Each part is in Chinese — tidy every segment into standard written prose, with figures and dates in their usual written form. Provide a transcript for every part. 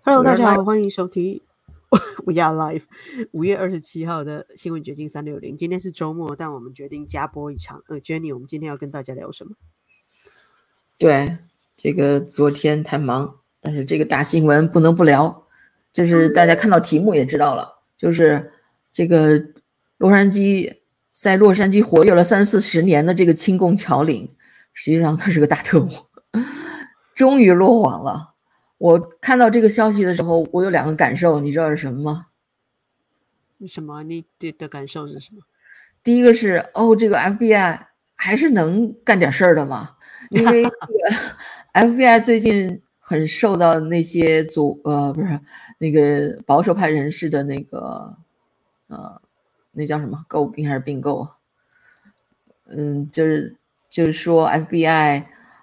Hello，大家好，欢迎收听We Are Live 5月27号的新闻掘金360。今天是周末，但我们决定加播一场。Jenny， 我们今天要跟大家聊什么？ 对，这个昨天太忙，但是这个大新闻不能不聊，就是大家看到题目也知道了，就是这个在洛杉矶活跃了30-40年的这个亲共侨领，实际上他是个大特务，终于落网了。我看到这个消息的时候，我有2个感受，你知道是什么吗？ 什么？你的感受是什么？ 第一个是这个 FBI 还是能干点事儿的嘛，因为这个 FBI 最近很受到那些不是那个保守派人士的那个那叫什么诟病还是并购？就是说 FBI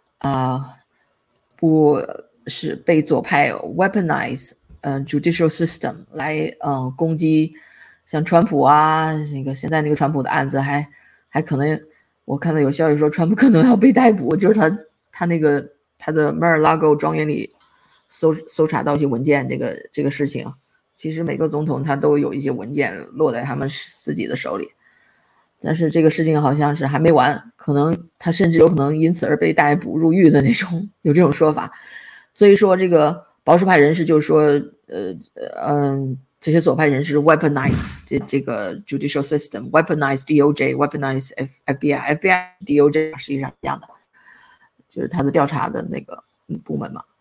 不是被左派 weaponize judicial system 来攻击像川普啊，那个现在那个川普的案子还可能，我看到有消息说川普可能要被逮捕，就是他的 Mar-a-Lago 庄园里搜查到一些文件，这个事情，其实每个总统他都有一些文件落在他们自己的手里，但是这个事情好像是还没完，可能他甚至有可能因此而被逮捕入狱的那种，有这种说法。所以说这个保守派人士就是说这些左派人士 weaponize 这个 judicial system， weaponize DOJ， weaponize FBI， FBI DOJ 实际上一样的，就是他的调查的那个部门嘛。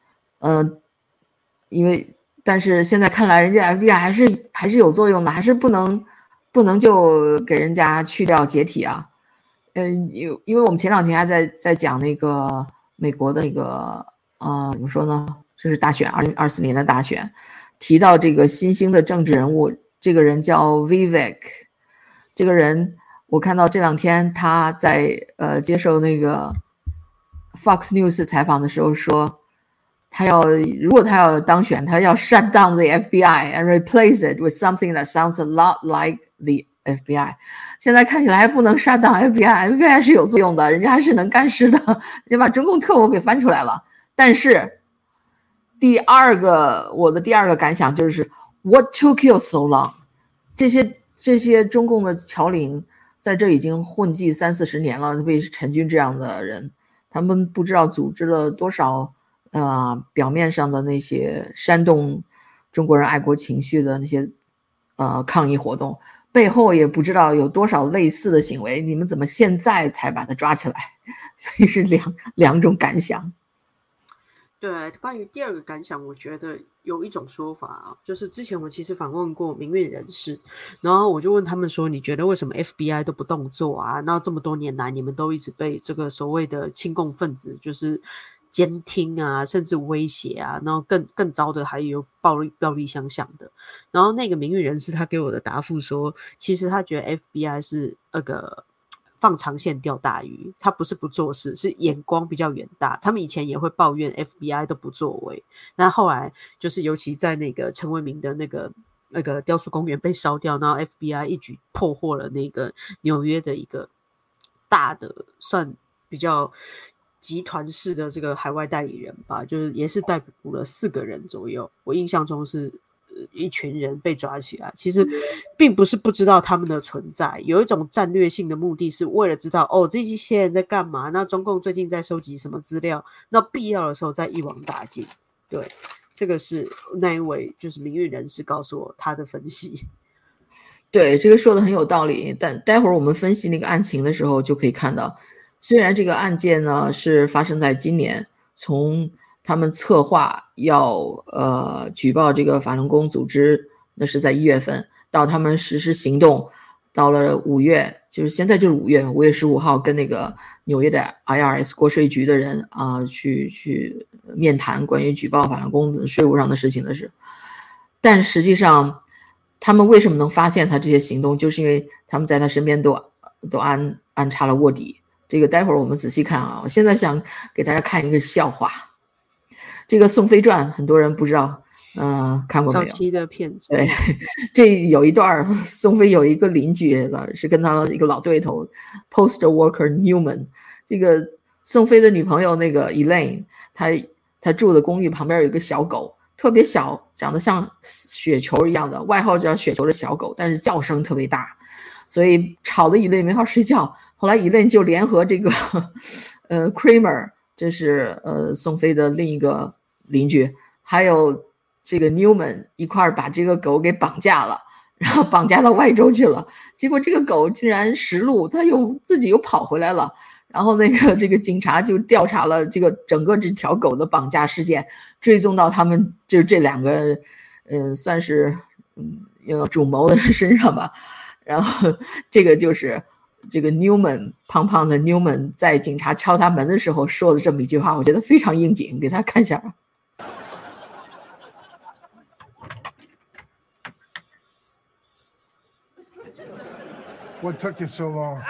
但是现在看来人家 FBI 还是有作用的，还是不能就给人家去掉解体啊。因为我们前2天还在讲那个美国的那个怎么说呢，就是大选2024年的大选，提到这个新兴的政治人物，这个人叫 Vivek， 这个人我看到这2天他在接受那个 Fox News 采访的时候说，如果他要当选，他要 shut down the FBI and replace it with something that sounds a lot like the FBI。 现在看起来还不能 shut down FBI 是有作用的，人家还是能干事的，人家把中共特务给翻出来了。但是我的第二个感想就是 What took you so long？ 这些中共的侨领在这已经混迹30-40年了，特别是陈军这样的人，他们不知道组织了多少表面上的那些煽动中国人爱国情绪的那些抗议活动，背后也不知道有多少类似的行为，你们怎么现在才把他抓起来？所以是两种感想。 对，关于第二个感想，我觉得有一种说法啊，就是之前我其实访问过民运人士，然后我就问他们说，你觉得为什么 FBI 都不动作啊？那这么多年来，你们都一直被这个所谓的亲共分子就是监听啊，甚至威胁啊，然后更糟的还有暴力相向的。然后那个民运人士他给我的答复说，其实他觉得 FBI 是那个放长线钓大鱼，他不是不做事，是眼光比较远大。他们以前也会抱怨 FBI 都不作为，那后来就是尤其在那个陈为民的那个雕塑公园被烧掉，然后 FBI 一举破获了那个纽约的一个大的算比较集团式的这个海外代理人吧，就是也是逮捕了4个人左右，我印象中是一群人被抓起来，其实并不是不知道他们的存在，有一种战略性的目的是为了知道这些人在干嘛，那中共最近在收集什么资料，那必要的时候再一网打尽。对，这个是那一位就是民运人士告诉我他的分析。 对，这个说的很有道理，但待会儿我们分析那个案情的时候就可以看到，虽然这个案件呢是发生在今年，从他们策划要举报这个法轮功组织，那是在1月份，到他们实施行动，到了5月，就是现在就是5月15号跟那个纽约的 IRS 国税局的人去面谈关于举报法轮功的税务上的事情的事，但实际上他们为什么能发现他这些行动，就是因为他们在他身边都安插了卧底。这个待会儿我们仔细看啊，我现在想给大家看一个笑话。这个宋飞传很多人不知道看过没有？ 早期的片子。 对，这有一段宋飞有一个邻居是跟他一个老对头 Post Worker Newman， 这个宋飞的女朋友那个 Elaine， 她住的公寓旁边有一个小狗， 特别小，长得像雪球一样的，外号叫雪球的小狗，但是叫声特别大，所以吵得 Elaine 没法睡觉。后来 Elaine 就联合这个Kramer， 这是宋飞的另一个邻居，还有这个 Newman 一块儿把这个狗给绑架了，然后绑架到外州去了。结果这个狗竟然识路，它自己又跑回来了。然后这个警察就调查了这个整个这条狗的绑架事件，追踪到他们就这两个算是主谋的人身上吧。然后这个就是这个 Newman 胖胖的 Newman 在警察敲他门的时候说的这么一句话，我觉得非常应景，给大家看一下。 What took you so long?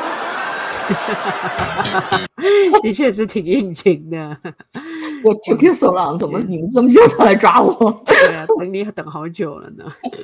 的确是挺应景的。 我 took you so long， 怎么你们这么久才来抓我？ 对啊，等好久了呢。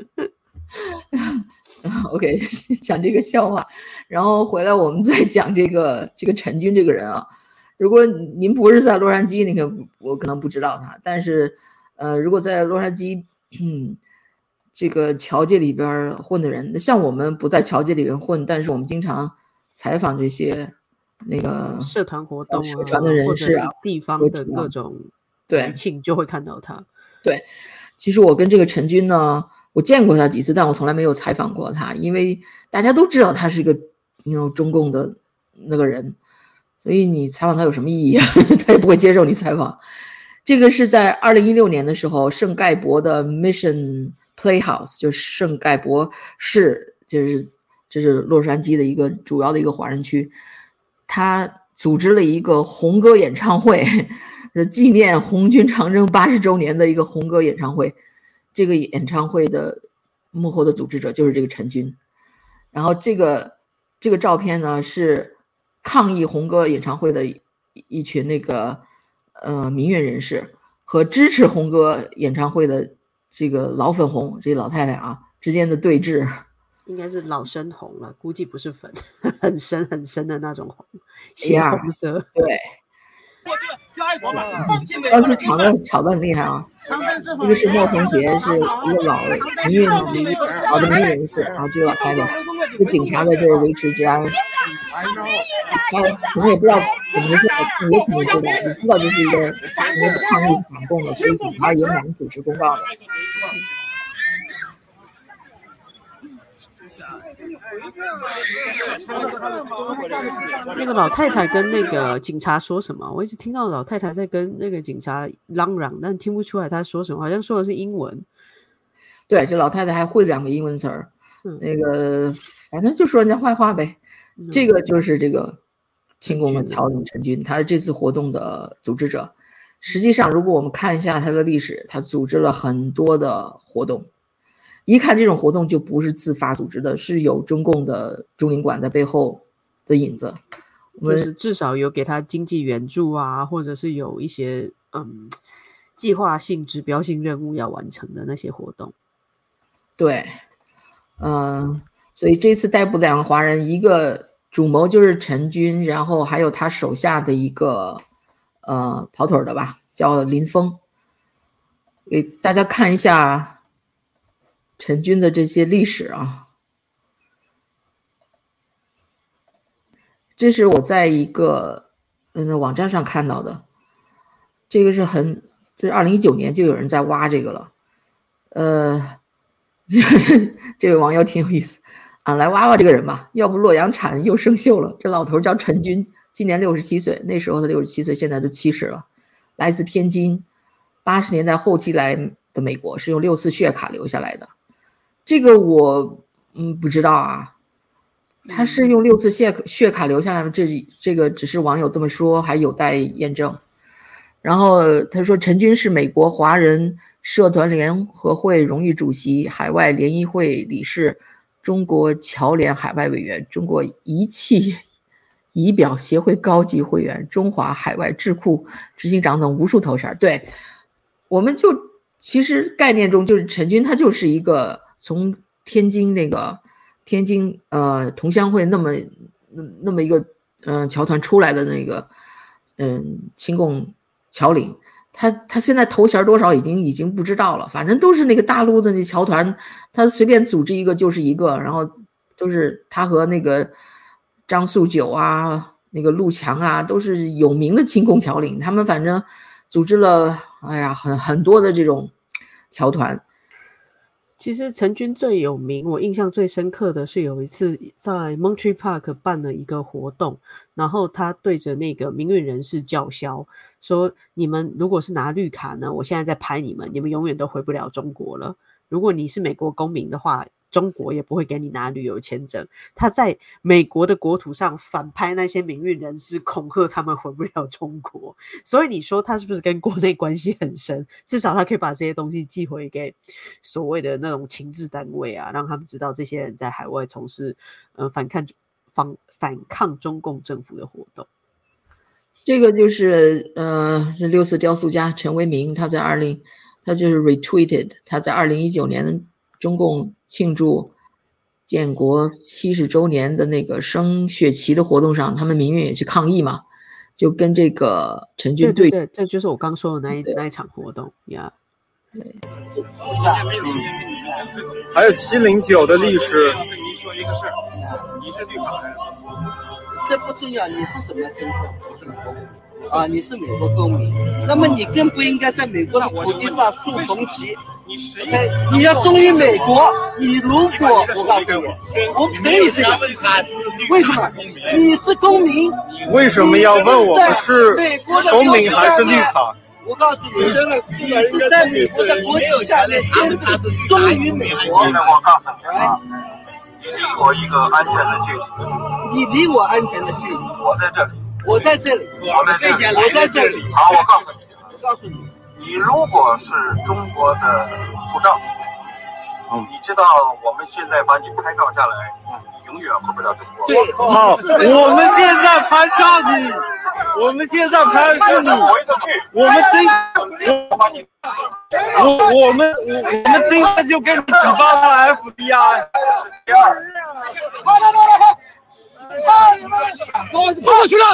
OK， 讲这个笑话，然后回来我们再讲这个陈军这个人啊。如果您不是在洛杉矶，我可能不知道他，但是如果在洛杉矶这个侨界里边混的人，像我们不在侨界里边混，但是我们经常采访这些那个社团活动社团的人士啊， 或者是地方的各种节庆就会看到他。 对，其实我跟这个陈军呢，我见过他几次，但我从来没有采访过他，因为大家都知道他是一个中共的那个人，所以你采访他有什么意义啊？他也不会接受你采访。这个是在2016年的时候，圣盖博的 Mission Playhouse， 就是圣盖博市，这是洛杉矶的一个主要的一个华人区，他组织了一个红歌演唱会，是纪念红军长征80周年的一个红歌演唱会。这个演唱会的幕后的组织者就是这个陈军。然后这个照片呢，是抗议红歌演唱会的一群那个民运人士和支持红歌演唱会的这个老粉红，这老太太啊之间的对峙。 应该是老深红了，估计不是粉，很深很深的那种红，血红色。 对，当时吵得很厉害啊。这个是莫逢杰，是一个老的民运人士，然后这个老太太，这警察在这儿维持治安。他可能也不知道怎么回事，也可能知道，你知道这是一个抗议反共的，所以警察也蛮主持公道的。 那个老太太跟那个警察说什么？我一直听到老太太在跟那个警察嚷嚷，但听不出来她说什么，好像说的是英文。 对，这老太太还会2个英文词儿，那个反正就说人家坏话呗。这个就是这个亲共的侨领陈军，他是这次活动的组织者。实际上，如果我们看一下他的历史，他组织了很多的活动。一看这种活动就不是自发组织的，是有中共的中领馆在背后的影子。 就是至少有给他经济援助啊，或者是有一些计划性、指标性任务要完成的那些活动。 对，所以这次逮捕2个华人，一个主谋就是陈军，然后还有他手下的一个跑腿的吧，叫林峰。给大家看一下陈军的这些历史啊，这是我在一个网站上看到的，这个是这2019年就有人在挖这个了，这位网友挺有意思啊，来挖挖这个人吧，要不洛阳铲又生锈了。这老头叫陈军，今年67岁，那时候他67岁，现在都70了，来自天津，80年代后期来的美国，是用6次血卡留下来的。这个我不知道啊，他是用6次血卡留下来的，这个只是网友这么说，还有待验证。然后他说陈军是美国华人社团联合会荣誉主席，海外联谊会理事，中国侨联海外委员，中国仪器仪表协会高级会员，中华海外智库执行长等无数头衔。对，我们就其实概念中就是陈军他就是一个从天津同乡会那么一个侨团出来的那个亲共侨领， 他现在头衔多少已经不知道了，反正都是那个大陆的那侨团，他随便组织一个就是一个，然后都是他和那个张素九啊，那个陆强啊，都是有名的亲共侨领，他们反正组织了很多的这种侨团。 其实陈军最有名，我印象最深刻的是有一次在 Monterey Park 办了一个活动，然后他对着那个民运人士叫嚣说，你们如果是拿绿卡呢，我现在在拍你们永远都回不了中国了。如果你是美国公民的话，中国也不会给你拿旅游签证。他在美国的国土上反拍那些民运人士，恐吓他们回不了中国。所以你说他是不是跟国内关系很深？至少他可以把这些东西寄回给所谓的那种情治单位啊，让他们知道这些人在海外从事反抗中共政府的活动。 这个就是是六四雕塑家陈为民，他就是 retweeted 他在2019年中共庆祝建国70周年的那个升血旗的活动上，他们民运也去抗议嘛，就跟这个陈军对，这就是我刚说的那一场活动呀。 对， 还有709的历史。 跟您说一个事儿，你是绿卡人， 这不重要，你是什么身份？我是美国公民啊，你是美国公民，那么你更不应该在美国的土地上竖红旗。你要忠于美国，你如果我告诉你，我可以这样，为什么？你是公民， 为什么要问我们是公民还是绿卡？ 我告诉你，你是在美国的国旗下面宣誓忠于美国。 现在我告诉你啊，你离我一个安全的距离。 你离我安全的距离。 我在这里。 我在这里。 我在这里。好，我告诉你，你如果是中国的护照，你知道我们现在把你拍照下来，你永远回不了中国。 对， 好，我们现在拍照你，我们现在拍是你，我们今天就给你举报了 FBI。 第二， 我不过去了，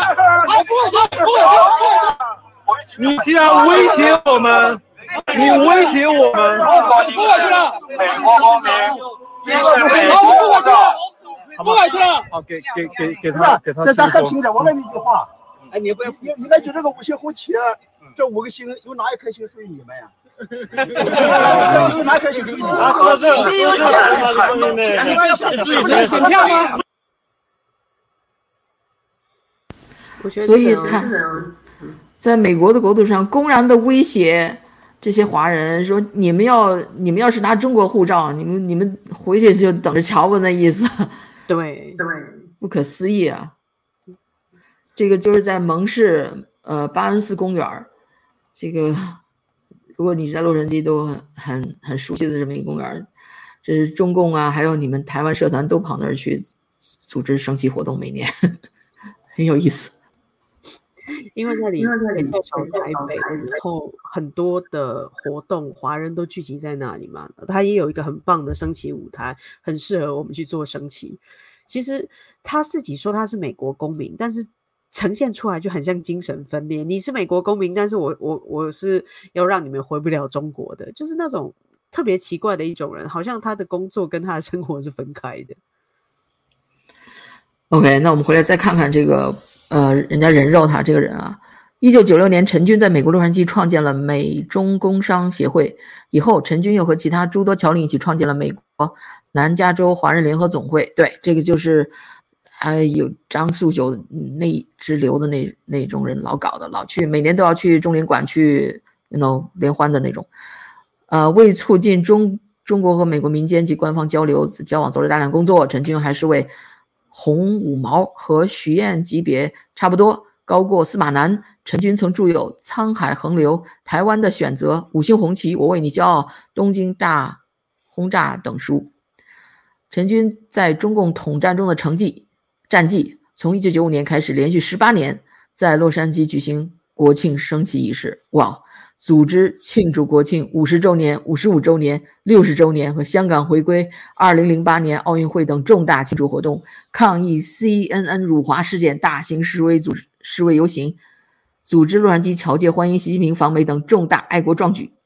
你既然威胁我们，你威胁我们， 不过去了，美国公民，你是美国护照， 不过去了。 好，给他。 这咱还听着，我问你一句话，哎，你来就这个五星红旗，这5个星有哪一颗星属于你们呀？有哪颗星属于你们？ 选票吗？ 所以他在美国的国土上公然的威胁这些华人说，你们要是拿中国护照，你们回去就等着瞧吧，那意思。 对， 不可思议啊！这个就是在蒙市巴恩斯公园，这个如果你在洛杉矶都很熟悉的这么一个公园，这是中共啊，还有你们台湾社团都跑那儿去组织升旗活动，每年很有意思。 因为那里从台北，然后很多的活动，华人都聚集在那里嘛。它也有一个很棒的升旗舞台，很适合我们去做升旗。其实他自己说他是美国公民，但是呈现出来就很像精神分裂。你是美国公民，但是我是要让你们回不了中国的，就是那种特别奇怪的一种人，好像他的工作跟他的生活是分开的。 OK， 那我们回来再看看这个人家人肉他这个人啊。1996年，陈军在美国洛杉矶创建了美中工商协会，以后陈军又和其他诸多侨领一起创建了美国南加州华人联合总会。对，这个就是有张素九那支流的那种人老搞的，老去每年都要去中领馆去联欢的那种。为促进中国和美国民间及官方交往做了大量工作。陈军还是为洪五毛和许燕级别差不多高过司马南。陈军曾著有《沧海横流》《台湾的选择》《五星红旗》《我为你骄傲》《东京大轰炸》等书。陈军在中共统战中的战绩，从1995年开始，连续18年在洛杉矶举行国庆升旗仪式。哇！组织庆祝国庆50周年、55周年、60周年和香港回归、2008年奥运会等重大庆祝活动，抗议 CNN 辱华事件，大型示威游行。 组织洛杉矶侨界欢迎习近平访美等重大爱国壮举。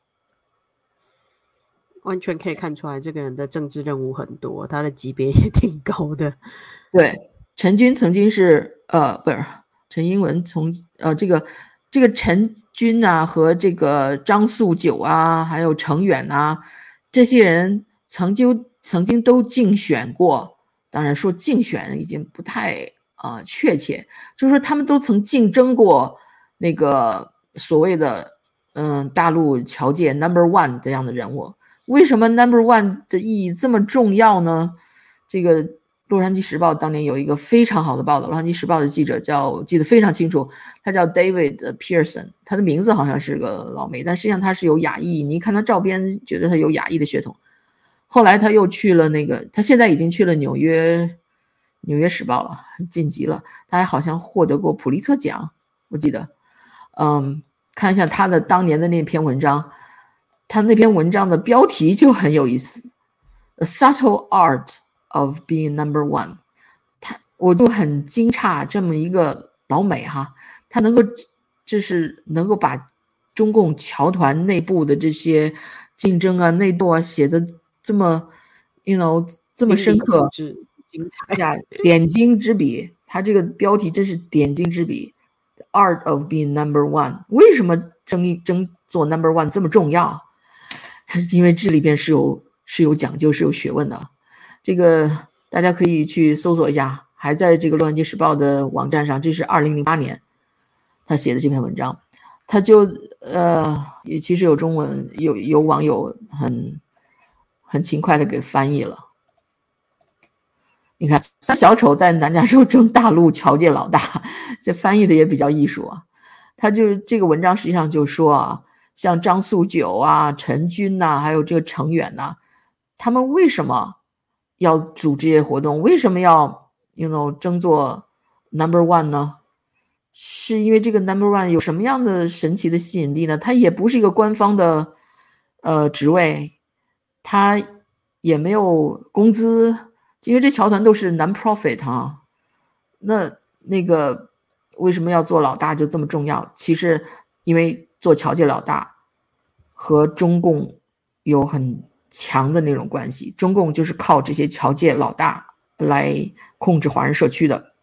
完全可以看出来这个人的政治任务很多，他的级别也挺高的。 对，陈军曾经是不是陈英文这个陈军啊和这个张素九啊还有程远啊这些人曾经都竞选过，当然说竞选已经不太确切，就是说他们都曾竞争过那个所谓的大陆侨界 No.1 这样的人物。为什么 No.1 的意义这么重要呢？这个洛杉矶时报当年有一个非常好的报道，洛杉矶时报的记者记得非常清楚，他叫 David Pearson， 他的名字好像是个老美，但实际上他是有亚裔，你一看他照片觉得他有亚裔的血统。后来他又去了他现在已经去了纽约时报了，晋级了，他还好像获得过普利策奖，我记得。看一下他的当年的那篇文章，他那篇文章的标题就很有意思 ，A Subtle Art of Being No.1。我就很惊诧，这么一个老美哈，他能够把中共侨团内部的这些竞争啊、内斗啊写的这么这么深刻、 精彩呀，点睛之笔。他这个标题真是点睛之笔。The Art of Being No.1， 为什么争做 No.1 这么重要？因为这里边是有讲究、是有学问的。这个大家可以去搜索一下，还在这个洛杉矶时报的网站上，这是2008年他写的这篇文章。他就也其实有中文，有网友很勤快的给翻译了。你看，三小丑在南加州争大陆侨界老大，这翻译的也比较艺术啊。他就这个文章实际上就说啊，像张素九啊、陈军呐，还有这个程远呐，他们为什么要组织这些活动？为什么要争做 No.1 呢？是因为这个 No.1 有什么样的神奇的吸引力呢？它也不是一个官方的职位，它也没有工资，因为这侨团都是 non-profit 啊。那个为什么要做老大就这么重要？其实因为做侨界老大和中共有很强的那种关系，中共就是靠这些侨界老大来控制华人社区的。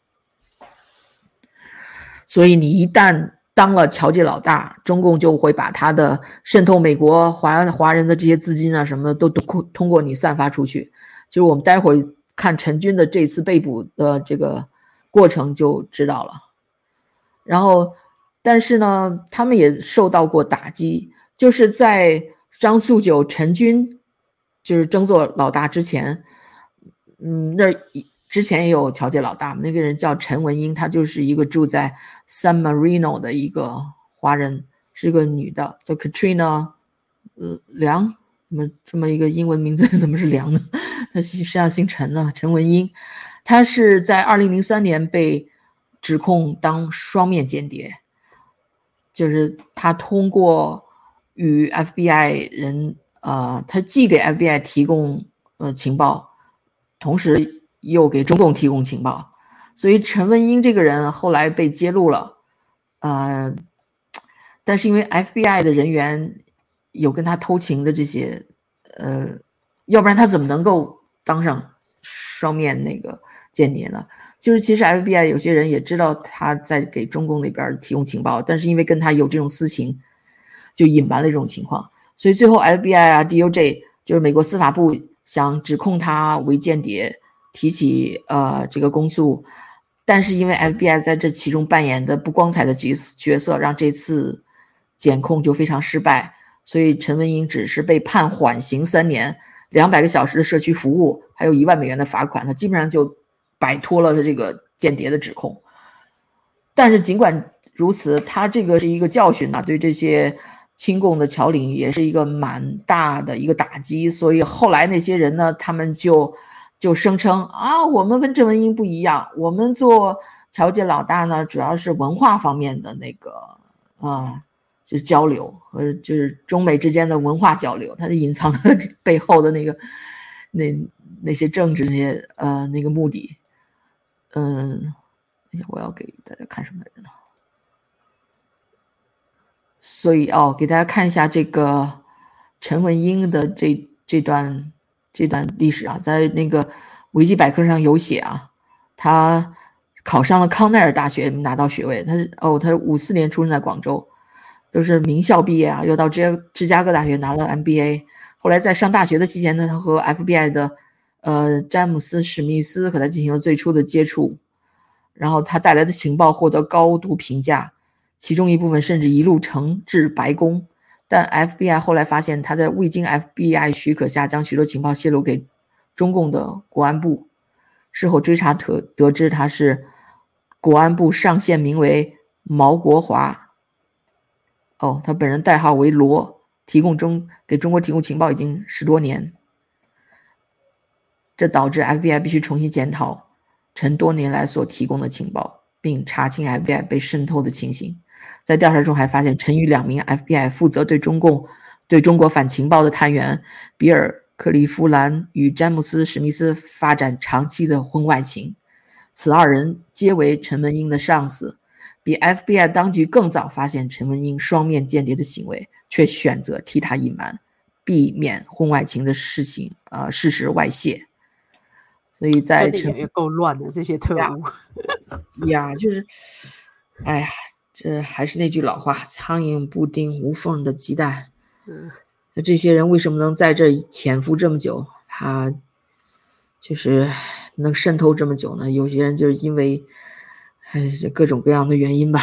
所以你一旦当了侨界老大，中共就会把他的渗透美国华人的这些资金啊什么的都通过你散发出去。就是我们待会儿看陈军的这次被捕的这个过程就知道了。然后但是呢，他们也受到过打击，就是在张素九、陈军就是争做老大之前，那之前也有侨界老大，那个人叫陈文英，她就是一个住在 San Marino 的一个华人，是个女的，叫 Katrina 梁，怎么这么一个英文名字怎么是梁呢？她实际上姓陈呢，陈文英。她是在2003年被指控当双面间谍，就是她通过与 FBI 人她既给 FBI 提供情报，同时又给中共提供情报，所以陈文英这个人后来被揭露了，但是因为 FBI 的人员有跟他偷情的这些，要不然他怎么能够当上双面那个间谍呢？就是其实 FBI 有些人也知道他在给中共那边提供情报，但是因为跟他有这种私情，就隐瞒了这种情况，所以最后 FBI 啊 DOJ 就是美国司法部想指控他为间谍，提起这个公诉，但是因为 FBI 在这其中扮演的不光彩的角色，让这次检控就非常失败，所以陈文英只是被判缓刑3年，200个小时的社区服务，还有1万美元的罚款，他基本上就摆脱了他这个间谍的指控。但是尽管如此，他这个是一个教训啊，对这些亲共的侨领也是一个蛮大的一个打击，所以后来那些人呢，他们就声称啊，我们跟郑文英不一样，我们做侨界老大呢，主要是文化方面的那个就是交流和就是中美之间的文化交流，它是隐藏的背后的那些政治那些那个目的。我要给大家看什么人呢？ 所以给大家看一下这个陈文英的这段历史啊，在那个维基百科上有写啊，他考上了康奈尔大学拿到学位，他54年出生在广州，都是名校毕业啊，又到芝加哥大学拿了 MBA， 后来在上大学的期间呢，他和 FBI 的詹姆斯史密斯和他进行了最初的接触，然后他带来的情报获得高度评价，其中一部分甚至一路呈至白宫，但 FBI 后来发现他在未经 FBI 许可下将许多情报泄露给中共的国安部，事后追查得知他是国安部上线名为毛国华，他本人代号为罗，给中国提供情报已经10多年，这导致 FBI 必须重新检讨陈多年来所提供的情报，并查清 FBI 被渗透的情形。在调查中还发现陈与2名 FBI 负责对中国反情报的探员比尔·克利夫兰与詹姆斯·史密斯发展长期的婚外情，此2人皆为陈文英的上司，比 FBI 当局更早发现陈文英双面间谍的行为，却选择替他隐瞒，避免婚外情的事实外泄。所以在真的也够乱的这些特务呀，就是这还是那句老话，苍蝇不叮无缝的鸡蛋。这些人为什么能在这潜伏这么久，他就是能渗透这么久呢？有些人就是因为各种各样的原因吧。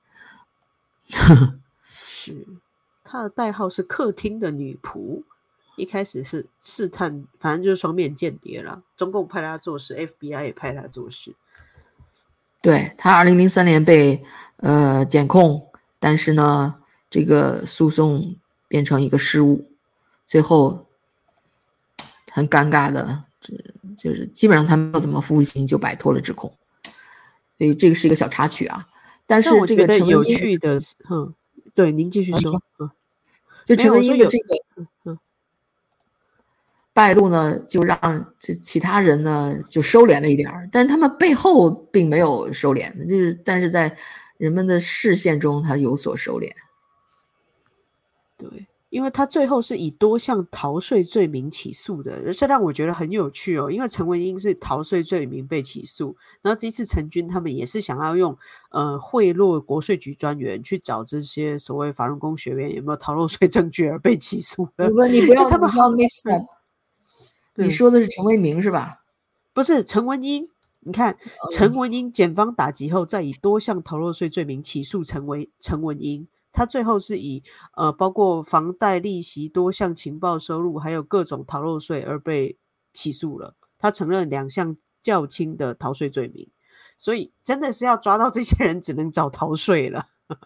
是，他的代号是客厅的女仆，一开始是试探，反正就是双面间谍啦，中共派他做事， FBI 也派他做事。 对，他2003年被检控，但是呢这个诉讼变成一个失误，最后很尴尬的就是基本上他没有怎么服刑就摆脱了指控，所以这个是一个小插曲啊。但是这个陈文英有趣的对，您继续说。 就陈文英的这个败露呢，就让这其他人呢就收敛了一点，但是他们背后并没有收敛，但是在人们的视线中他有所收敛。 对，因为他最后是以多项逃税罪名起诉的，这让我觉得很有趣哦。因为陈文英是逃税罪名被起诉，然后这一次陈军他们也是想要用贿赂国税局专员去找这些所谓法轮功学员有没有逃漏税证据而被起诉的。 你不要 mix up， 你说的是陈为民是吧？ 不是陈文英，你看陈文英检方打击后，再以多项逃漏税罪名起诉陈文英。他最后是以包括房贷利息、多项情报收入还有各种逃漏税而被起诉了，他承认2项较轻的逃税罪名，所以真的是要抓到这些人只能找逃税了。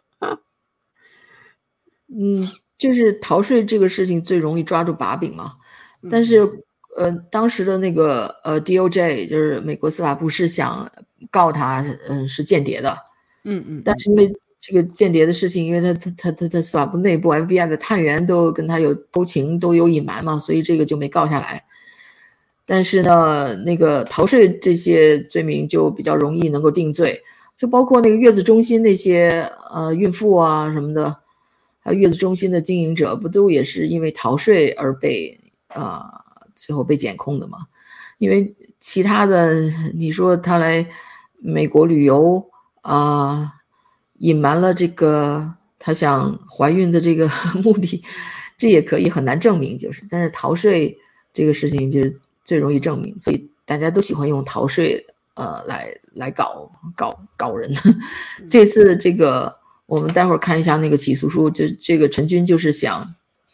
就是逃税这个事情最容易抓住把柄嘛，但是当时的那个DOJ 就是美国司法部是想告他是间谍的，但是因为这个间谍的事情，因为他司法部内部 FBI 的探员都跟他有偷情，都有隐瞒嘛，所以这个就没告下来。但是呢，那个逃税这些罪名就比较容易能够定罪，就包括那个月子中心那些孕妇啊什么的，还有月子中心的经营者，不都也是因为逃税而被最后被检控的嘛？因为其他的，你说他来美国旅游隐瞒了这个他想怀孕的这个目的，这也可以很难证明，但是逃税这个事情就是最容易证明，所以大家都喜欢用逃税来搞人。这次这个我们待会儿看一下那个起诉书，这个陈军就是想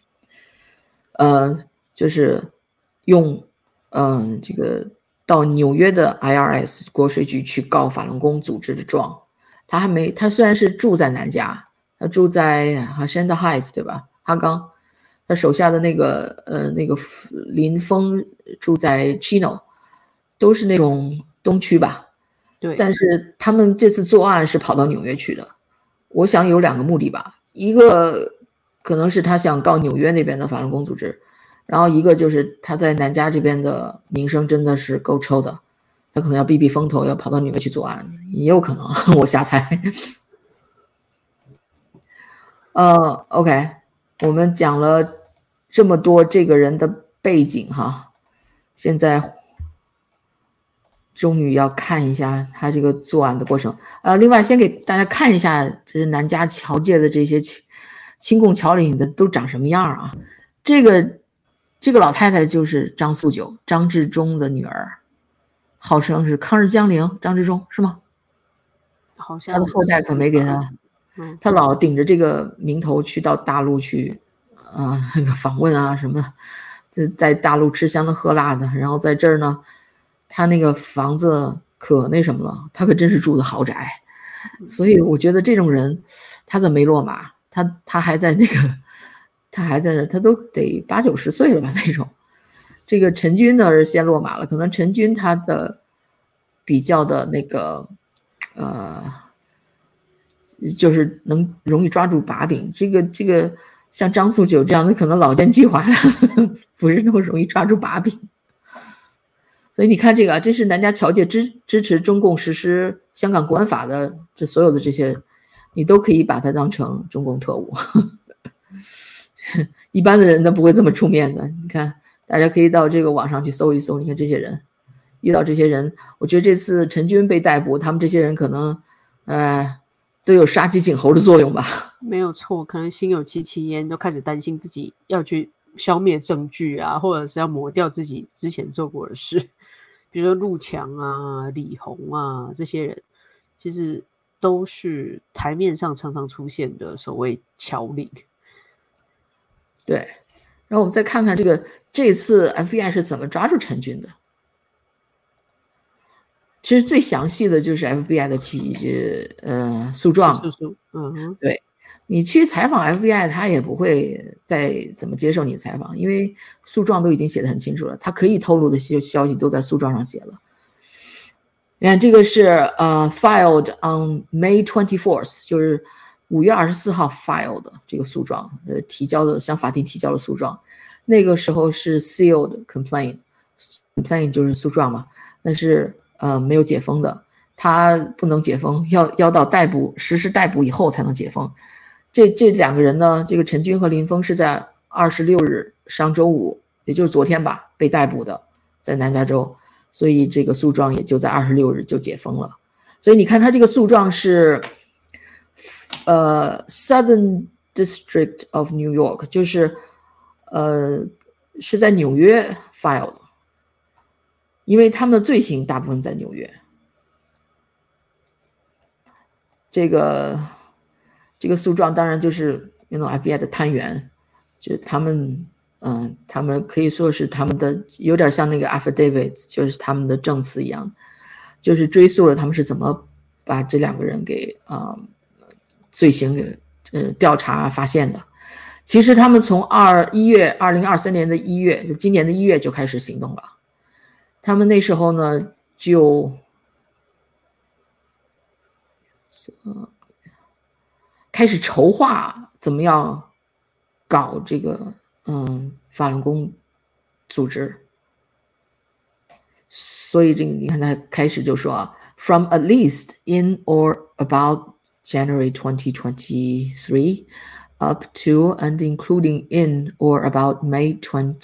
就是用这个到纽约的 IRS 国税局去告法轮功组织的状。他虽然是住在南加，他住在Hacienda Heights 对吧？哈冈，他手下的那个林峰住在 Chino， 都是那种东区吧。 对。 但是他们这次作案是跑到纽约去的，我想有2个目的吧，一个可能是他想告纽约那边的法轮功组织，然后一个就是他在南加这边的名声真的是够臭的。他可能要避避风头，要跑到纽约去作案，也有可能，我瞎猜。 OK， 我们讲了这么多这个人的背景哈，现在终于要看一下他这个作案的过程。另外先给大家看一下，这是南家侨界的这些亲共侨领的都长什么样啊？这个老太太就是张素九，张治中的女儿，号称是抗日将领张治中是吗？ 好像他的后代可没给他，他老顶着这个名头去到大陆去，那个访问啊什么，在大陆吃香的喝辣的，然后在这儿呢，他那个房子可那什么了，他可真是住的豪宅，所以我觉得这种人，他怎么没落马？他还在那个，他还在那，他都得80、90岁了吧那种。这个陈军呢是先落马了，可能陈军他的比较的那个。就是能容易抓住把柄，这个像张素九这样的可能老奸巨猾不是那么容易抓住把柄。所以你看这个，这是南家侨界支持中共实施香港国安法的，这所有的这些你都可以把它当成中共特务一般的人都不会这么出面的。你看大家可以到这个网上去搜一搜，你看这些人遇到这些人，我觉得这次陈军被逮捕，他们这些人可能都有杀鸡儆猴的作用吧。 没有错，可能心有戚戚焉，都开始担心自己要去消灭证据啊，或者是要抹掉自己之前做过的事。比如说陆强啊、李红啊这些人，其实都是台面上常常出现的所谓侨领。 对，然后我们再看看这次 FBI 是怎么抓住陈军的。其实最详细的就是 FBI 的诉状。对，你去采访 FBI， 他也不会再怎么接受你的采访，因为诉状都已经写得很清楚了，他可以透露的消息都在诉状上写了。你看这个是filed on May 24th， 就是5月24号 filed 的这个诉状，向法庭提交的诉状。那个时候是 sealed complaint 就是诉状嘛，但是没有解封的，他不能解封，要到实施逮捕以后才能解封。这两个人呢，这个陈军和林峰是在26日上周五，也就是昨天吧，被逮捕的，在南加州，所以这个诉状也就在26日就解封了。所以你看他这个诉状是Southern District of New York， 就是是在纽约 file 的，因为他们的罪行大部分在纽约。这个诉状当然就是FBI 的探员，就他们可以说是他们的有点像那个 affidavit， 就是他们的证词一样，就是追溯了他们是怎么把这两个人给罪行给调查发现的。其实他们从2023年的1月，就今年的1月就开始行动了。他们那时候呢就开始筹划怎么样搞这个法轮功组织。所以这个你看他开始就说from at least in or about January 2023 up to and including in or about May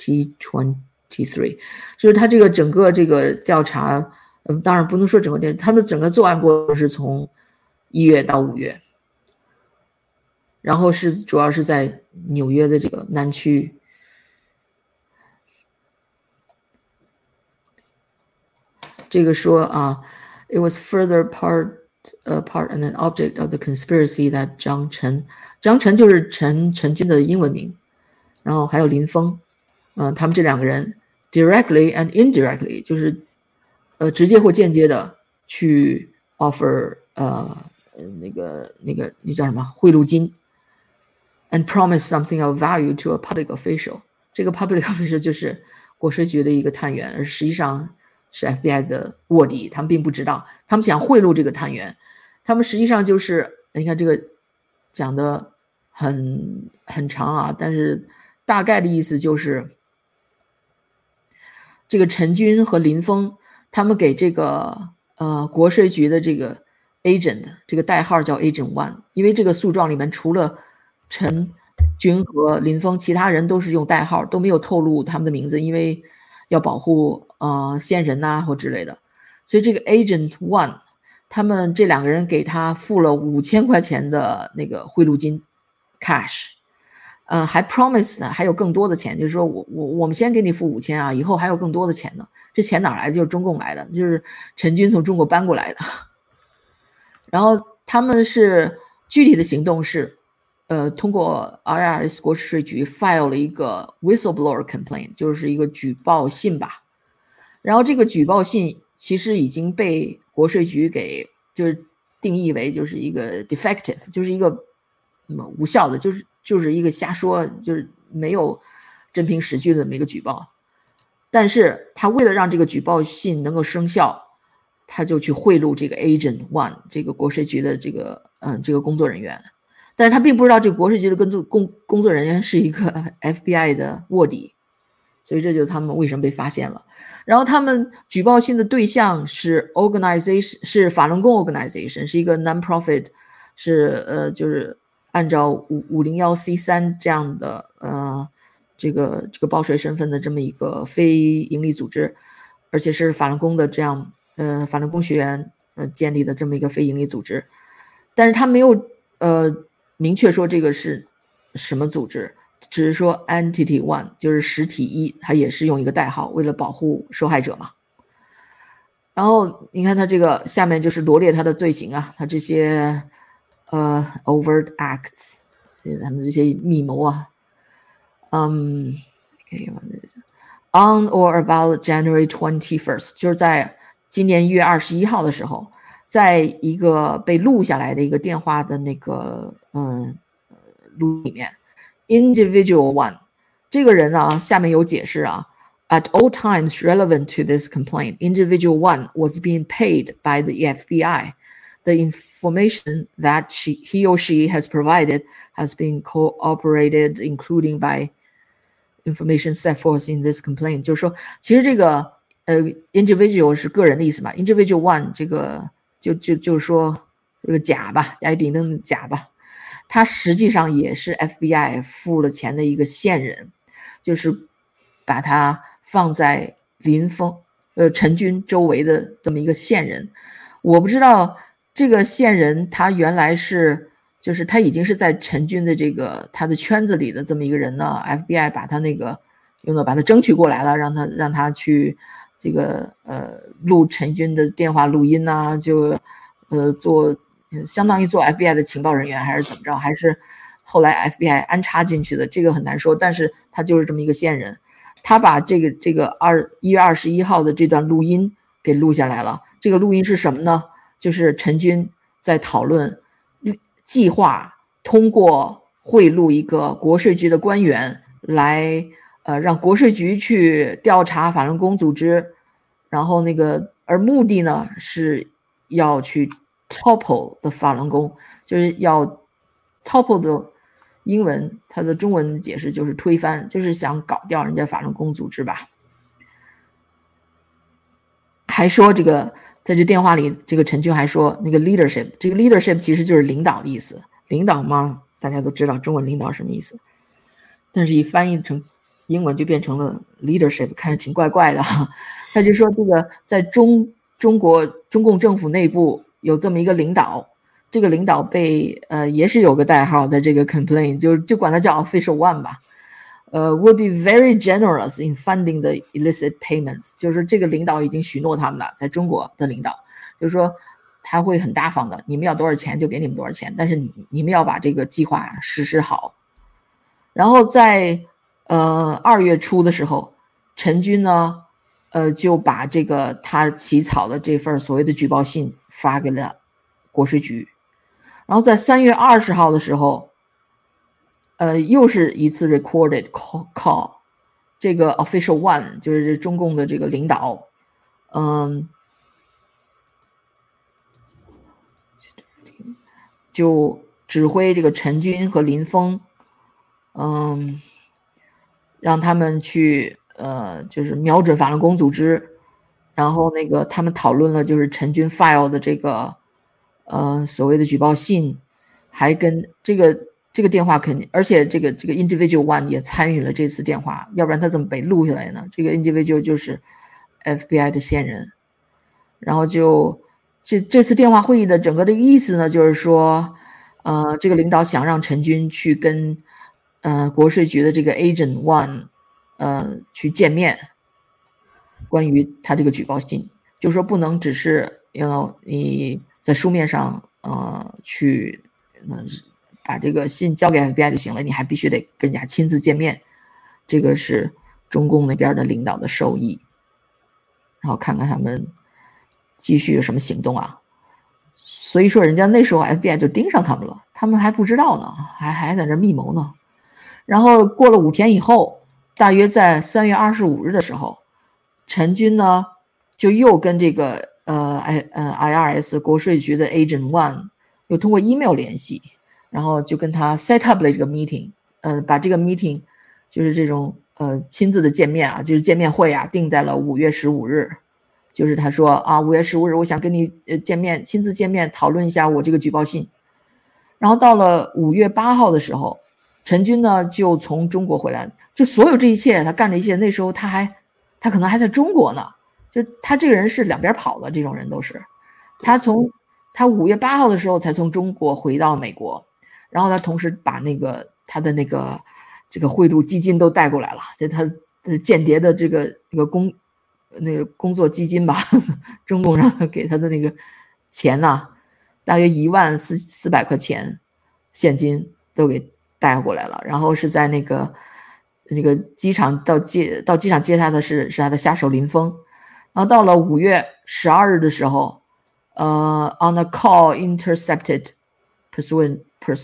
2023， 就是他这个整个这个调查，当然不能说整个他们整个作案过程是从1月到5月，然后主要是在纽约的这个南区。这个说it was further part and an object of the conspiracy that 张晨就是陈军的英文名，然后还有林峰，他们这两个人 directly and indirectly 就是直接或间接的去 offer 那个那叫什么贿赂金 and promise something of value to a public official。 这个 public official 就是国税局的一个探员，而实际上是 FBI 的卧底，他们并不知道，他们想贿赂这个探员，他们实际上就是你看这个讲的很长但是大概的意思就是这个陈军和林峰他们给这个国税局的这个 agent， 这个代号叫 agent 1， 因为这个诉状里面除了陈军和林峰其他人都是用代号，都没有透露他们的名字，因为要保护线人呐或之类的。所以这个 Agent One 他们这2个人给他付了5000块钱的那个贿赂金 cash， 还 promise 还有更多的钱，就是说我们先给你付5000啊，以后还有更多的钱呢。这钱哪来的？就是中共来的，就是陈军从中国搬过来的。然后他们是具体的行动是通过 IRS 国税局 file 了一个 whistleblower complaint， 就是一个举报信吧。然后这个举报信其实已经被国税局给就是定义为就是一个 defective， 就是一个无效的，就是一个瞎说，就是没有真凭实据的这么一个举报。但是他为了让这个举报信能够生效，他就去贿赂这个 Agent One 这个国税局的这个工作人员。但是他并不知道这个国税局的工作人员是一个 FBI 的卧底，所以这就是他们为什么被发现了。然后他们举报信的对象是 organization， 是法轮功 organization， 是一个 non-profit， 是就是按照501c3这样的这个报税身份的这么一个非营利组织，而且是法轮功的这样法轮功学员建立的这么一个非营利组织。但是他没有明确说这个是什么组织，只是说 Entity One 就是实体一，它也是用一个代号，为了保护受害者嘛。然后你看他这个下面就是罗列他的罪行啊，他这些overt acts， 他们这些密谋啊，on or about January 21st， 就是在今年1月21号的时候，在一个被录下来的一个电话的那个录里面 ，Individual One 这个人呢，下面有解释啊。At all times relevant to this complaint, Individual One was being paid by the FBI. The information that he or she has provided has been corroborated, including by information set forth in this complaint. 就是说，其实这个individual 是个人的意思嘛 ，Individual One 这个就是说这个甲吧，甲乙丙丁的甲吧，他实际上也是 FBI 付了钱的一个线人，就是把他放在林峰陈军周围的这么一个线人。我不知道这个线人他原来是就是他已经是在陈军的这个他的圈子里的这么一个人呢， FBI 把他那个把他争取过来了，让他去这个录陈军的电话录音啊，就相当于做 FBI 的情报人员，还是怎么着，还是后来 FBI 安插进去的，这个很难说，但是他就是这么一个线人。他把这个1月21号的这段录音给录下来了。这个录音是什么呢？就是陈军在讨论计划通过贿赂一个国税局的官员来让国税局去调查法轮功组织，然后而目的呢是要去 topple 的法轮功，就是要 topple 的英文，它的中文解释就是推翻，就是想搞掉人家法轮功组织吧。还说这个在这电话里，这个陈军还说那个 leadership， 这个 leadership 其实就是领导的意思。领导嘛，大家都知道中文领导什么意思，但是一翻译成英文就变成了 leadership， 看着挺怪怪的。他就说这个在中国中共政府内部有这么一个领导，这个领导被也是有个代号在这个 complaint， 就管他叫 Official One 吧。will be very generous in funding the illicit payments， 就是这个领导已经许诺他们了，在中国的领导就是说他会很大方的，你们要多少钱就给你们多少钱，但是你们要把这个计划实施好。然后在2月初的时候，陈军呢就把这个他起草的这份所谓的举报信发给了国税局。然后在3月20号的时候又是一次 recorded call， 这个 Official One 就是中共的这个领导就指挥这个陈军和林峰让他们去就是瞄准法轮功组织，然后他们讨论了就是陈军 file 的这个所谓的举报信，还跟这这个电话肯定，而且这个 individual one 也参与了这次电话，要不然他怎么被录下来呢？这个 individual 就是 FBI 的线人，然后就这次电话会议的整个的意思呢，就是说，这个领导想让陈军去跟国税局的这个 Agent One 去见面，关于他这个举报信，就是说不能只是你在书面上去把这个信交给 FBI 就行了，你还必须得跟人家亲自见面，这个是中共那边的领导的授意，然后看看他们继续有什么行动啊。所以说人家那时候 FBI 就盯上他们了，他们还不知道呢，还在这密谋呢。然后过了5天以后，大约在3月25日的时候，陈军呢就又跟这个IRS 国税局的 Agent One 又通过 email 联系，然后就跟他 set up 了这个 meeting， 把这个 meeting 就是这种亲自的见面啊，就是见面会啊，定在了5月15日。就是他说啊，5月15日我想跟你见面，亲自见面讨论一下我这个举报信。然后到了5月8号的时候，陈军呢就从中国回来，就所有这一切他干这一切，那时候他可能还在中国呢，就他这个人是两边跑的，这种人都是。他5月8号的时候才从中国回到美国，然后他同时把他的这个贿赂基金都带过来了，就他的间谍的这个工作基金吧，中共让他给他的那个钱呢，大约14400块钱现金都给带过来了。然后是在那个机场到机场接他的是他的下手林峰。然后到了5月12日的时候，on a call intercepted pursuant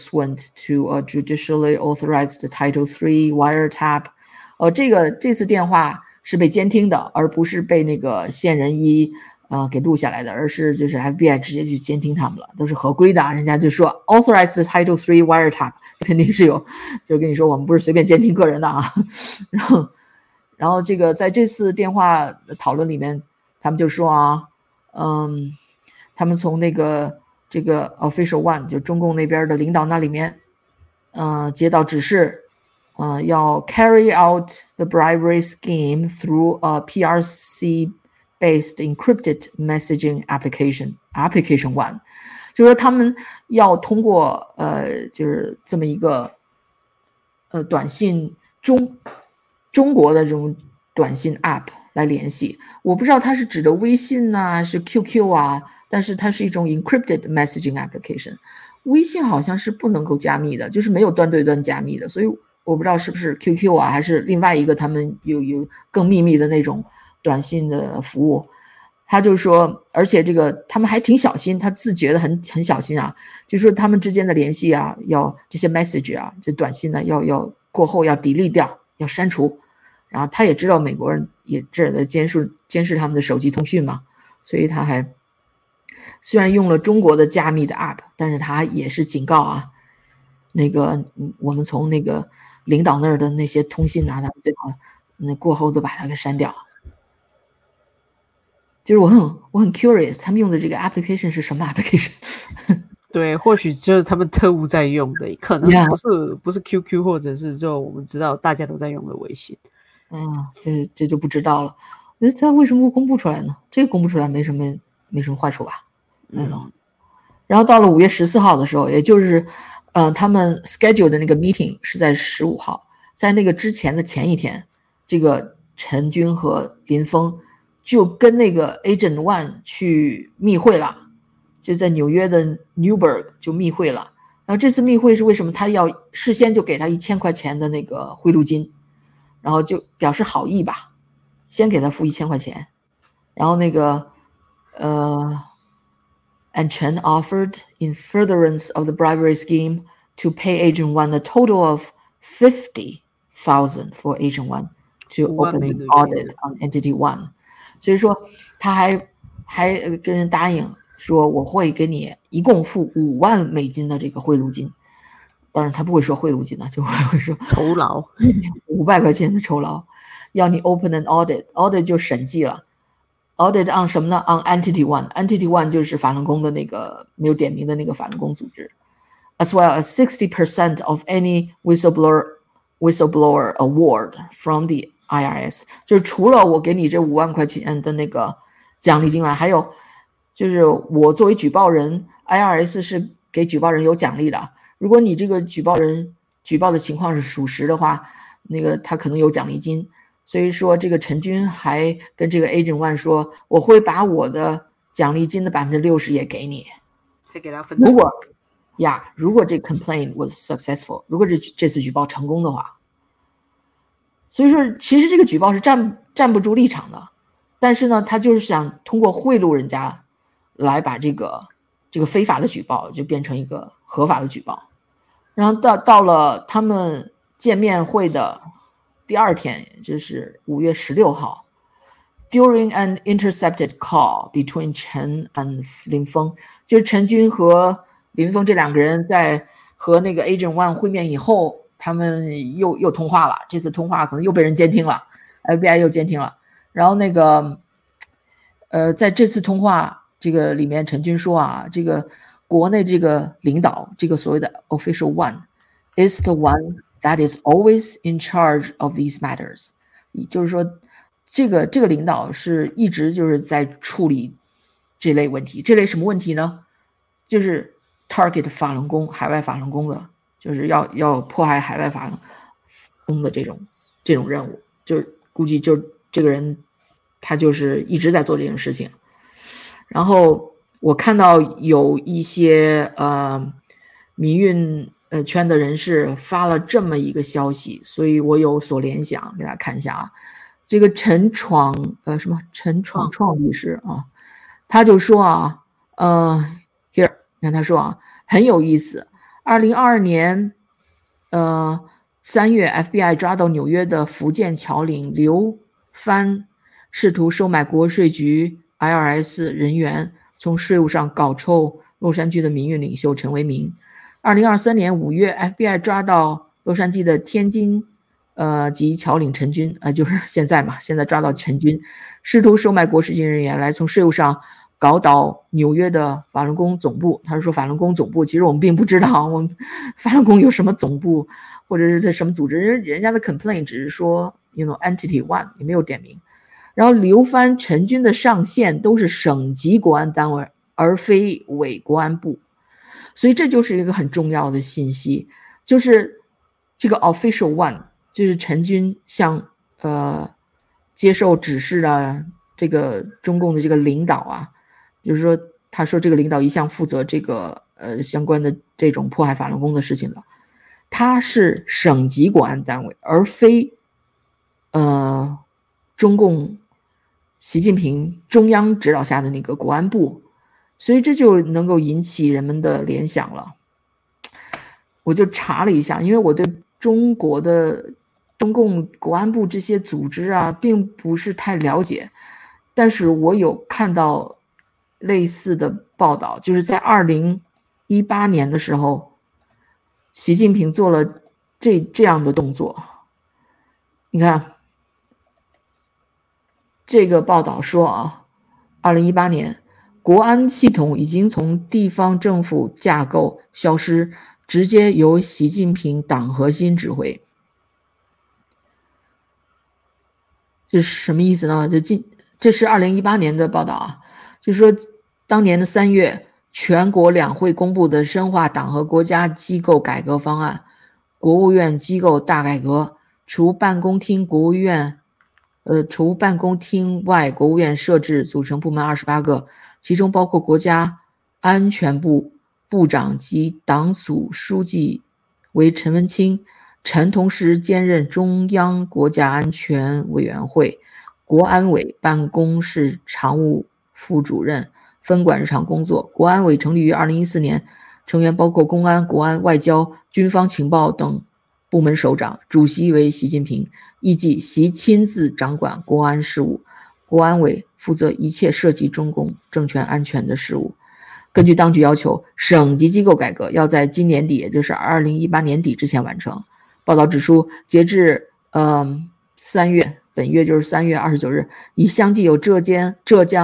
to a judicially authorized Title III wiretap， 这次电话是被监听的，而不是被那个线人一给录下来的，而是就是 FBI 直接去监听他们了，都是合规的。人家就说 authorized Title III wiretap 肯定是有，就跟你说我们不是随便监听个人的啊。然后这个在这次电话讨论里面，他们就说啊，他们从这个 official one 就中共那边的领导那里面接到指示，要 carry out the bribery scheme through a PRC based encrypted messaging application one， 就是说他们要通过就是这么一个短信中国的这种短信 app 来联系。我不知道它是指的微信啊，是 QQ 啊，但是它是一种 encrypted messaging application。微信好像是不能够加密的，就是没有端对端加密的，所以我不知道是不是 QQ 啊，还是另外一个他们有更秘密的那种短信的服务。他就说，而且这个他们还挺小心，他自觉得很小心啊，就说他们之间的联系啊，要这些 message 啊，这短信呢要过后要 delete 掉，要删除。然后他也知道美国人也这在监视他们的手机通讯嘛，所以他还虽然用了中国的加密的 app， 但是他也是警告啊，我们从那个领导那儿的那些通信啊，他们最好过后都把它给删掉。就是我很 curious， 他们用的这个 application 是什么 application？ 对，或许就是他们特务在用的，可能不是 QQ， 或者是就我们知道大家都在用的微信。 这就不知道了。他为什么不公布出来呢？这个公布出来没什么坏处吧？然后到了5月14号的时候，也就是他们 schedule 的那个 meeting 是在15号，在那个之前的前一天，这个陈军和林峰就跟那个 Agent One 去密会了，就在纽约的 Newburgh 就密会了。然后这次密会是为什么？他要事先就给他1000块钱的那个贿赂金，然后就表示好意吧，先给他付1000块钱。然后and Chen offered in furtherance of the bribery scheme to pay Agent One a total of $50,000 for Agent One to open an audit on Entity One。所以说他还跟人答应说我会给你一共付5万美金的这个贿赂金，当然他不会说贿赂金呢，就会说酬劳 500块钱的酬劳，要你 open an audit 就审计了。audit on 什么呢？ on Entity One 就是法轮功的那个没有点名的那个法轮功组织。 as well as 60% of any whistleblower award from the IRS。 就是除了我给你这5万块钱的那个奖励金外，还有就是我作为举报人 IRS 是给举报人有奖励的，如果你这个举报人举报的情况是属实的话，那个他可能有奖励金。所以说这个陈军还跟这个 Agent One 说，我会把我的奖励金的60%也给你， 还给他分。 如果这 complaint was successful， 如果这次举报成功的话，所以说其实这个举报是站不住立场的，但是呢，他就是想通过贿赂人家来把这个非法的举报就变成一个合法的举报。然后到了他们见面会的第2天，也就是5月16号 ，during an intercepted call between Chen and 林峰，就是陈军和林峰这2个人在和那个 Agent One 会面以后，他们又通话了。这次通话可能又被人监听了 ，FBI 又监听了。然后那个在这次通话这个里面，陈军说啊，这个国内这个领导，这个所谓的 Official One is the one that is always in charge of these matters， 就是说这个领导是一直就是在处理这类问题。这类什么问题呢？就是 target 法轮功，海外法轮功的，就是要迫害海外法轮功的这种任务。就是估计就这个人他就是一直在做这件事情。然后我看到有一些民运圈的人士发了这么一个消息，所以我有所联想，给大家看一下啊。这个陈闯律师啊，他就说啊，here 你看他说啊，很有意思。2022年3月 FBI 抓到纽约的福建侨领刘帆，试图收买国税局 IRS 人员，从税务上搞臭洛杉矶的民运领袖陈为民。2023年5月 FBI 抓到洛杉矶的天津及侨领陈军，就是现在抓到陈军，试图收买国税局人员来从税务上搞倒纽约的法轮功总部。他说法轮功总部，其实我们并不知道我们法轮功有什么总部或者是这什么组织，人家的 complaint 只是说 entity one， 也没有点名。然后刘帆、陈军的上线都是省级国安单位，而非伪国安部。所以这就是一个很重要的信息，就是这个 official one， 就是陈军向接受指示的这个中共的这个领导啊，就是说他说这个领导一向负责这个相关的这种迫害法轮功的事情的，他是省级国安单位，而非中共习近平中央指导下的那个国安部。所以这就能够引起人们的联想了。我就查了一下，因为我对中国的中共国安部这些组织啊并不是太了解，但是我有看到类似的报道，就是在2018年的时候，习近平做了这样的动作。你看这个报道说啊，2018年国安系统已经从地方政府架构消失，直接由习近平党核心指挥。这是什么意思呢？这是2018年的报道啊，就是说当年的3月，全国两会公布的深化党和国家机构改革方案，国务院机构大改革，除办公厅外，国务院设置组成部门28个。其中包括国家安全部部长及党组书记为陈文清，陈同时兼任中央国家安全委员会国安委办公室常务副主任，分管日常工作。国安委成立于2014年，成员包括公安、国安、外交、军方情报等部门首长，主席为习近平，预计习亲自掌管国安事务。国安委负责一切涉及中共政权安全的事务。根据当局要求，省级机构改革要在今年底，也就是2018年底之前完成。报道指出，截至3月，本月就是3月29日，已相继有浙江、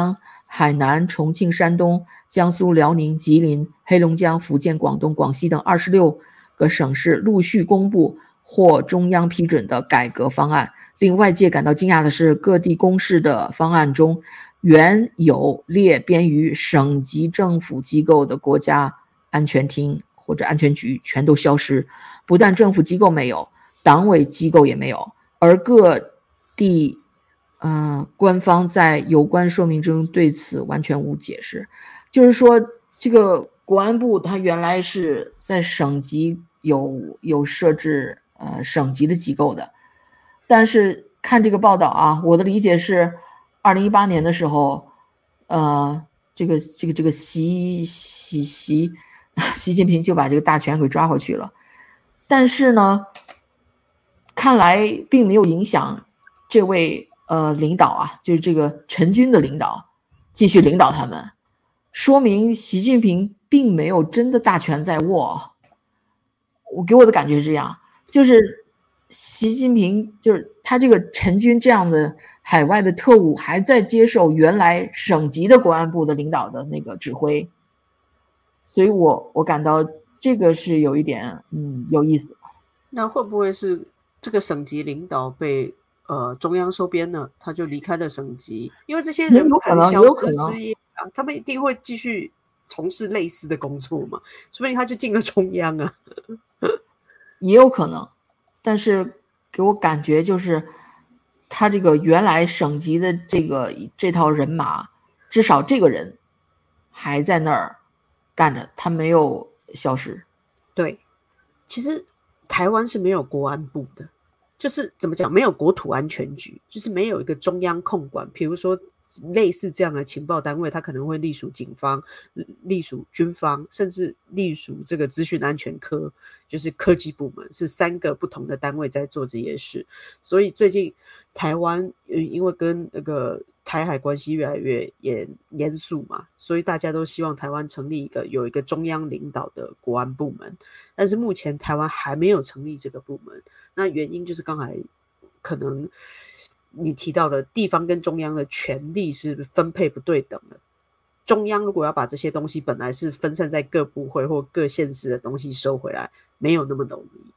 海南、重庆、山东、江苏、辽宁、吉林、黑龙江、福建、广东、广西等26个省市陆续公布获中央批准的改革方案。令外界感到惊讶的是，各地公示的方案中，原有列编于省级政府机构的国家安全厅或者安全局全都消失。不但政府机构没有，党委机构也没有，而各地官方在有关说明中对此完全无解释。就是说，这个国安部它原来是在省级有设置省级的机构的，但是看这个报道啊，我的理解是2018年的时候，这个习近平就把这个大权给抓回去了。但是呢，看来并没有影响这位领导啊，就是这个陈军的领导继续领导他们，说明习近平并没有真的大权在握。我给我的感觉是这样，就是习近平就是他这个陈军这样的海外的特务还在接受原来省级的国安部的领导的那个指挥，所以我感到这个是有一点有意思。 那会不会是这个省级领导被中央收编了，他就离开了省级？因为这些人不可能消失失业啊，他们一定会继续从事类似的工作嘛，说不定他就进了中央啊。 也有可能，但是给我感觉就是他这个原来省级的这套人马，至少这个人还在那儿干着，他没有消失。 对，其实台湾是没有国安部的，就是怎么讲，没有国土安全局，就是没有一个中央控管。比如说类似这样的情报单位，它可能会隶属警方、隶属军方，甚至隶属这个资讯安全科，就是科技部门，是3个不同的单位在做这些事。所以最近台湾因为跟那个台海关系越来越严肃嘛，所以大家都希望台湾成立有一个中央领导的国安部门，但是目前台湾还没有成立这个部门。那原因就是刚才可能你提到的地方跟中央的权力是分配不对等的。中央如果要把这些东西本来是分散在各部会或各县市的东西收回来，没有那么容易。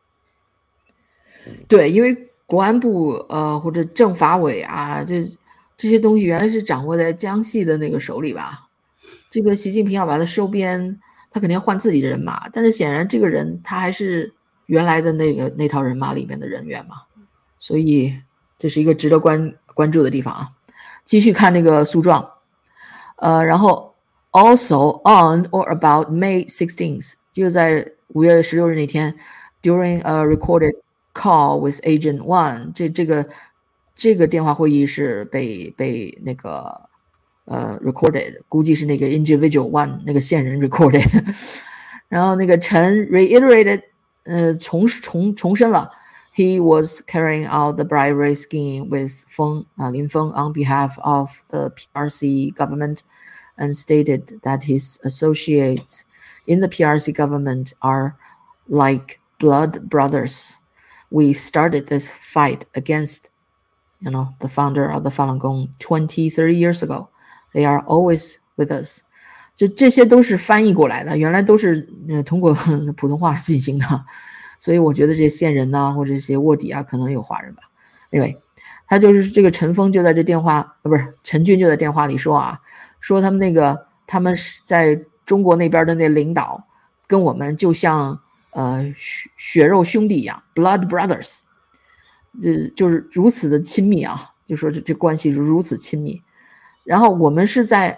对，因为国安部或者政法委啊，这些东西原来是掌握在江西的那个手里吧。这个习近平要把它收编，他肯定要换自己的人马，但是显然这个人他还是原来的那套人马里面的人员嘛，所以这是一个值得关注的地方啊。继续看这个诉状，然后 also on or about May 16th， 就在5月16日那天 ，during a recorded call with Agent One， 这个电话会议是被那个recorded， 估计是那个 individual one 那个线人 recorded， 然后那个陈 reiterated， 重申了。He was carrying out the bribery scheme with Lin Feng on behalf of the PRC government and stated that his associates in the PRC government are like blood brothers. We started this fight against, the founder of the Falun Gong 20, 30 years ago. They are always with us. 这些都是翻译过来的，原来都是通过普通话进行的。所以我觉得这些线人呐，或者这些卧底啊，可能有华人吧。Anyway， 他就是这个陈峰就在这电话，不是陈军就在电话里说啊，说他们在中国那边的那领导跟我们就像血肉兄弟一样 ，blood brothers， 就是如此的亲密啊，就说这关系是如此亲密。然后我们是在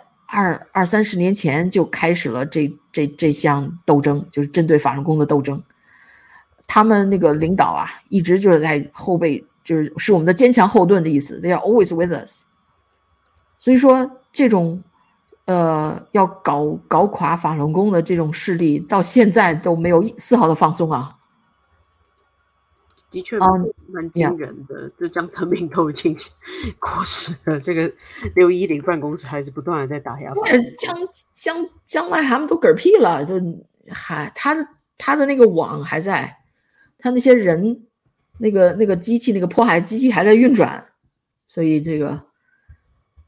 20-30年前就开始了这项斗争，就是针对法轮功的斗争。他们那个领导啊，一直就是在后背，是我们的坚强后盾的意思。They are always with us。所以说，这种要搞垮法轮功的这种势力，到现在都没有丝毫的放松啊。 的确蛮惊人的，就江泽民都已经过世了，这个610办公室还是不断的在打压。 将来他们都嗝屁了，就他的那个网还在。他那些人，那个机器，那个迫害机器还在运转，所以这个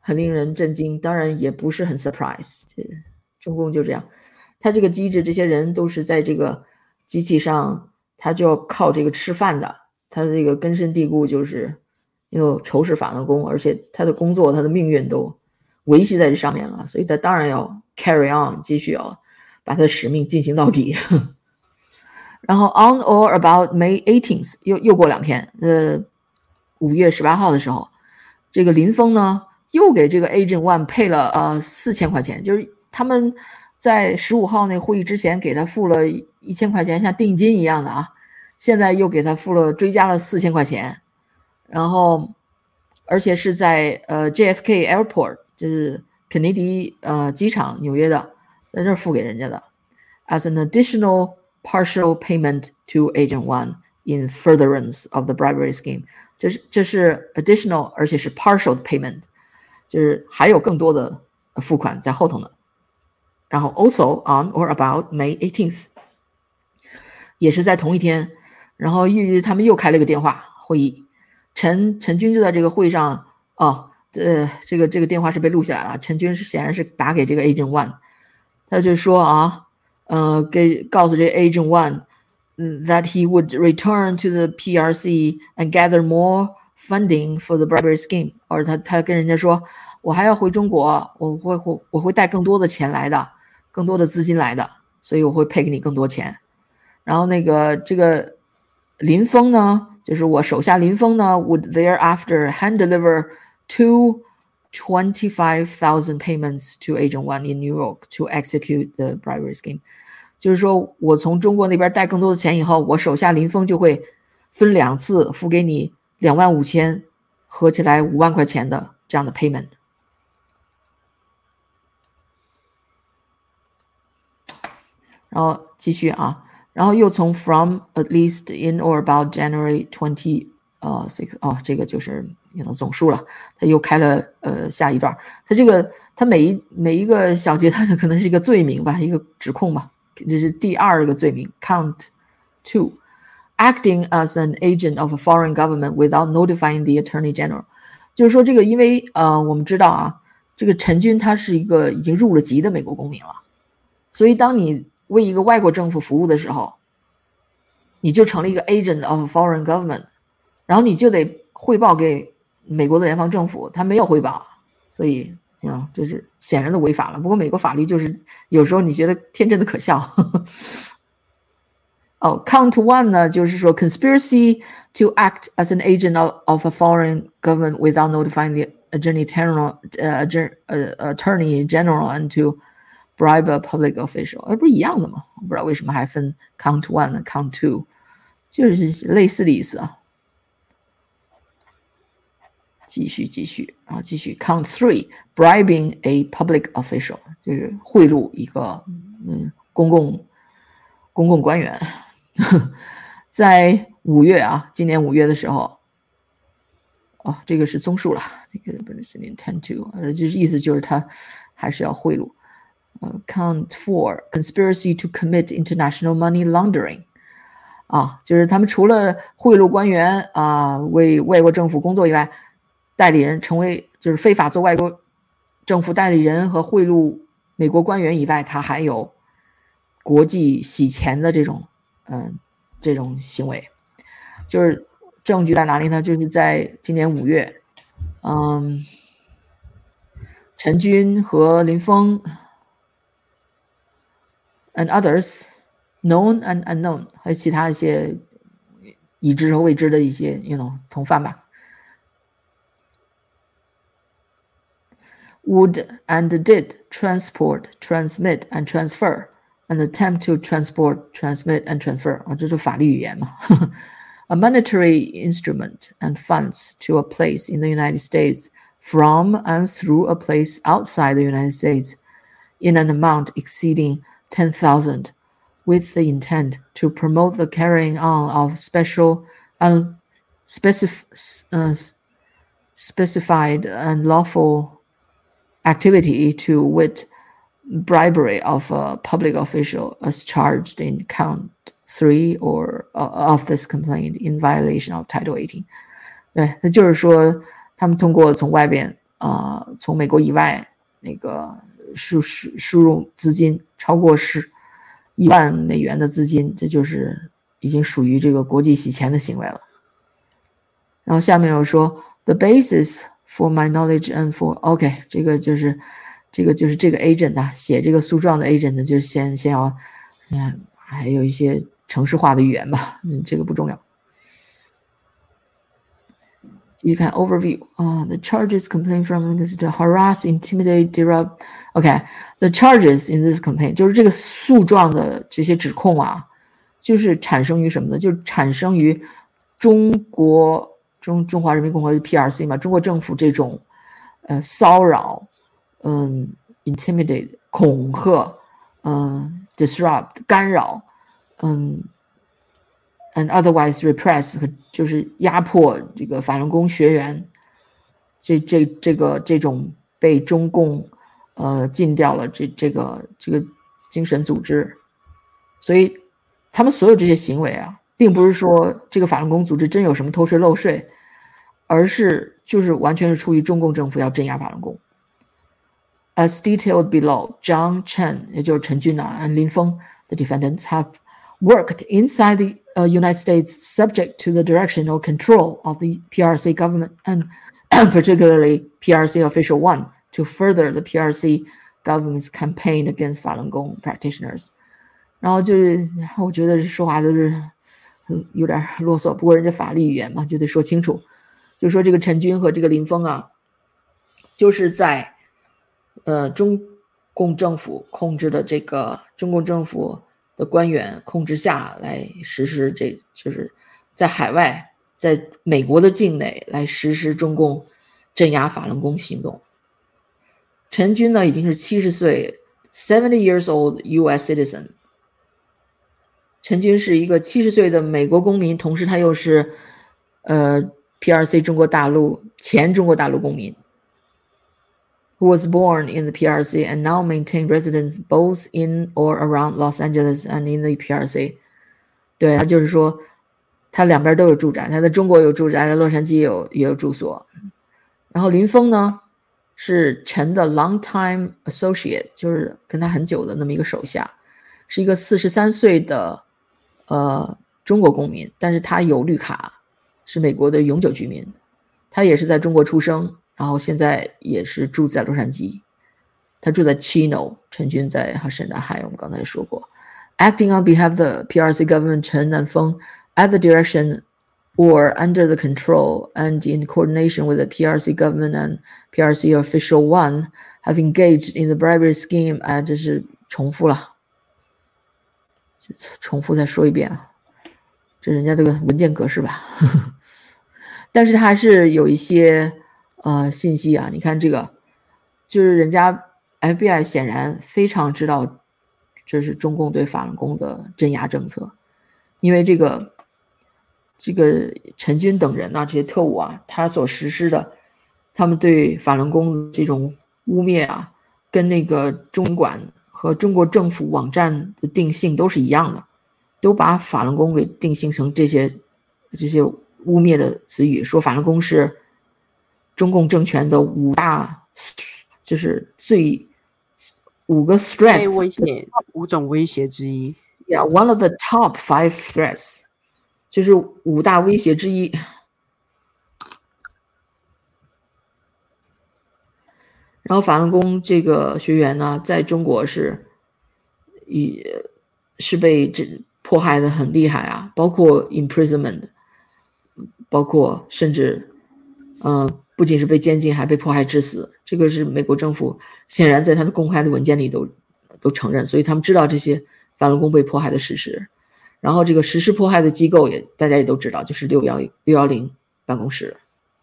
很令人震惊，当然也不是很 surprise。中共就这样，他这个机制，这些人都是在这个机器上，他就要靠这个吃饭的，他这个根深蒂固就是有仇视法轮功，而且他的工作、他的命运都维系在这上面了，所以他当然要 carry on， 继续要把他的使命进行到底。然后 on or about May 18th 又过2天，5月18号的时候，这个林峰呢又给这个 Agent One 配了4000块钱，就是他们在15号那会议之前给他付了1000块钱，像定金一样的啊，现在又给他追加了4000块钱，然后而且是在JFK Airport， 就是肯尼迪机场，纽约的，在这儿付给人家的 ，as an additional partial payment to Agent One in furtherance of the bribery scheme。这是 additional， 而且是 partial payment， 就是还有更多的付款在后头呢。然后 also on or about May 18th， 也是在同一天，然后他们又开了一个电话会议，陈军就在这个会上，这个电话是被录下来了，陈军显然是打给这个 Agent One， 他就说告诉这 Agent One that he would return to the PRC and gather more funding for the bribery scheme， 或者他跟人家说，我还要回中国，我会带更多的钱来的，更多的资金来的，所以我会配给你更多钱。然后这个林峰呢，就是我手下林峰呢 would thereafter hand deliver 25,000 payments to Agent One in New York to execute the bribery scheme。就是说我从中国那边带更多的钱以后，我手下林峰就会分2次付给你25000，合起来5万块钱的这样的 payment。然后继续啊，然后又从 from at least in or about January 26，这个就是总数了。他又开了下一段，他每一个小节，他可能是一个罪名吧，一个指控吧。这是第2个罪名 Count 2， acting as an agent of a foreign government without notifying the Attorney General。 就是说这个，因为我们知道啊，这个陈军他是一个已经入了籍的美国公民了，所以当你为一个外国政府服务的时候，你就成了一个 agent of a foreign government， 然后你就得汇报给美国的联邦政府，他没有汇报，所以这是显然的违法了。不过美国法律就是有时候你觉得天真的可笑。Count 1呢，就是说 conspiracy to act as an agent of a foreign government without notifying the Attorney General and to bribe a public official， 不是一样的吗？我不知道为什么还分 Count 1和 Count 2， 就是类似的意思啊。继续 Count 3 bribing a public official， 就是贿赂一个公共官员。在5月啊，今年5月的时候，这个是综述了，这个不是 intend to， 就是意思就是他还是要贿赂。Count 4 conspiracy to commit international money laundering， 就是他们除了贿赂官员为外国政府工作以外，代理人就是非法做外国政府代理人和贿赂美国官员以外，他还有国际洗钱的这种行为。就是证据在哪里呢？就是在今年5月，陈军和林峰 and others known and unknown， 还有其他一些已知和未知的一些同犯吧。would and did transport, transmit and transfer and attempt to transport, transmit and transfer， 这是法律语言嘛。A monetary instrument and funds to a place in the United States from and through a place outside the United States in an amount exceeding 10,000 with the intent to promote the carrying on of special specified and lawful activity to wit bribery of a public official as charged in count 3 or of this complaint in violation of Title 18。 对，那就是说他们通过从外边从美国以外那个输入资金超过1万美元的资金，这就是已经属于这个国际洗钱的行为了。然后下面又说 the basis for my knowledge and for OK 这个就是这个 agent 啊，写这个诉状的 agent 就先要还有一些程式化的语言吧，这个不重要。继续看 overview the charges complaint from is to harass, intimidate, disrupt. OK, the charges in this complaint 就是这个诉状的这些指控啊，就是产生于什么呢？就是产生于中华人民共和国 PRC 嘛，中国政府这种骚扰intimidate 恐吓disrupt 干扰and otherwise repress 就是压迫这个法轮功学员这种被中共禁掉了这个精神组织，所以他们所有这些行为啊，并不是说这个法轮功组织真有什么偷税漏税，而是就是完全是出于中共政府要镇压法轮功。As detailed below, Zhang Chen 也就是陈军啊 and Lin Feng the defendants have worked inside the United States subject to the direction or control of the PRC government and particularly PRC Official 1 to further the PRC government's campaign against Falun Gong practitioners. 然后我觉得说话都是有点啰嗦，不过人家法律语言嘛，就得说清楚。就说这个陈军和这个林峰啊，就是在中共政府控制的这个中共政府的官员控制下来实施就是在海外，在美国的境内来实施中共镇压法轮功行动。陈军呢已经是70岁 70 years old US citizen。陈军是一个70岁的美国公民，同时他又是PRC 前中国大陆公民 who was born in the PRC and now maintain residence both in or around Los Angeles and in the PRC. 对，他就是说他两边都有住宅，他在中国有住宅，在洛杉矶也有住所。然后林峰呢是陈的 long-time associate， 就是跟他很久的那么一个手下，是一个43岁的中国公民，但是他有绿卡，是美国的永久居民。他也是在中国出生，然后现在也是住在洛杉矶。他住在 Chino， 陈军在沈大海，我们刚才说过。Acting on behalf of the PRC government, Chen and Feng, at the direction or under the control and in coordination with the PRC government and PRC Official 1, have engaged in the bribery scheme. 这是重复了，重复再说一遍啊，这人家这个文件格式吧。但是它还是有一些信息啊，你看这个就是人家 FBI 显然非常知道这是中共对法轮功的镇压政策，因为这个陈军等人啊，这些特务啊，他所实施的他们对法轮功的这种污蔑啊，跟那个中管和中国政府网站的定性都是一样的，都把法轮功给定性成这些污蔑的词语，说法轮功是中共政权的5大，就是5个 threats， 威胁5种威胁之一。 Yeah, one of the top 5 threats， 就是5大威胁之一。然后法轮功这个学员呢，在中国是被迫害的很厉害啊，包括 imprisonment， 包括甚至不仅是被监禁，还被迫害致死。这个是美国政府显然在他的公开的文件里都承认，所以他们知道这些法轮功被迫害的事实。然后这个实施迫害的机构大家也都知道，就是610办公室。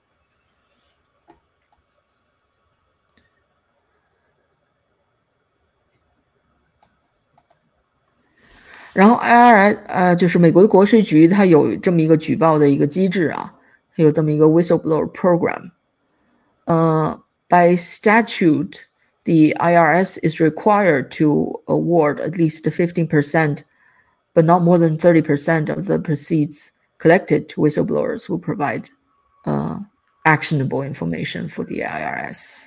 然后 IRS 就是美国的国税局，它有这么一个举报的一个机制啊，它有这么一个 whistleblower program。By statute, the IRS is required to award at least 15%, but not more than 30% of the proceeds collected to whistleblowers who provide actionable information for the IRS。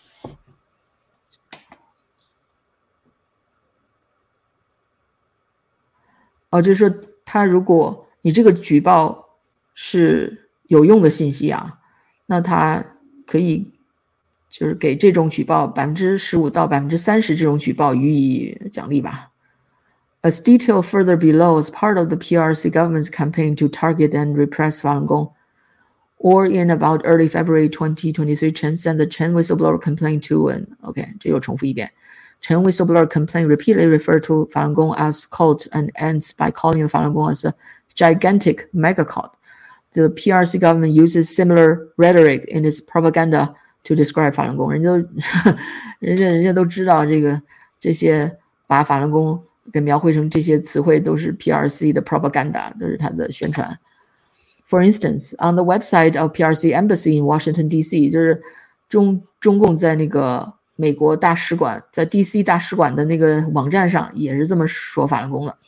就是说，他如果你这个举报是有用的信息啊，那他可以就是给这种举报15%到30%这种举报予以奖励吧。As detailed further below, as part of the PRC government's campaign to target and repress Falun Gong, or in about early February 2023, Chen sent the Chen whistleblower complaint to an这又重复一遍。Chen whistleblower complaint repeatedly referred to Falun Gong as cult and ends by calling the Falun Gong as a gigantic mega cult. The PRC government uses similar rhetoric in its propaganda to describe Falun Gong. 人家都知道这些把法轮功给描绘成这些词汇都是 PRC 的 propaganda， 都是它的宣传。For instance, on the website of PRC Embassy in Washington D.C. 就是中共在那个美国大使馆在 DC 大使馆的那个网站上也是这么说法轮功的。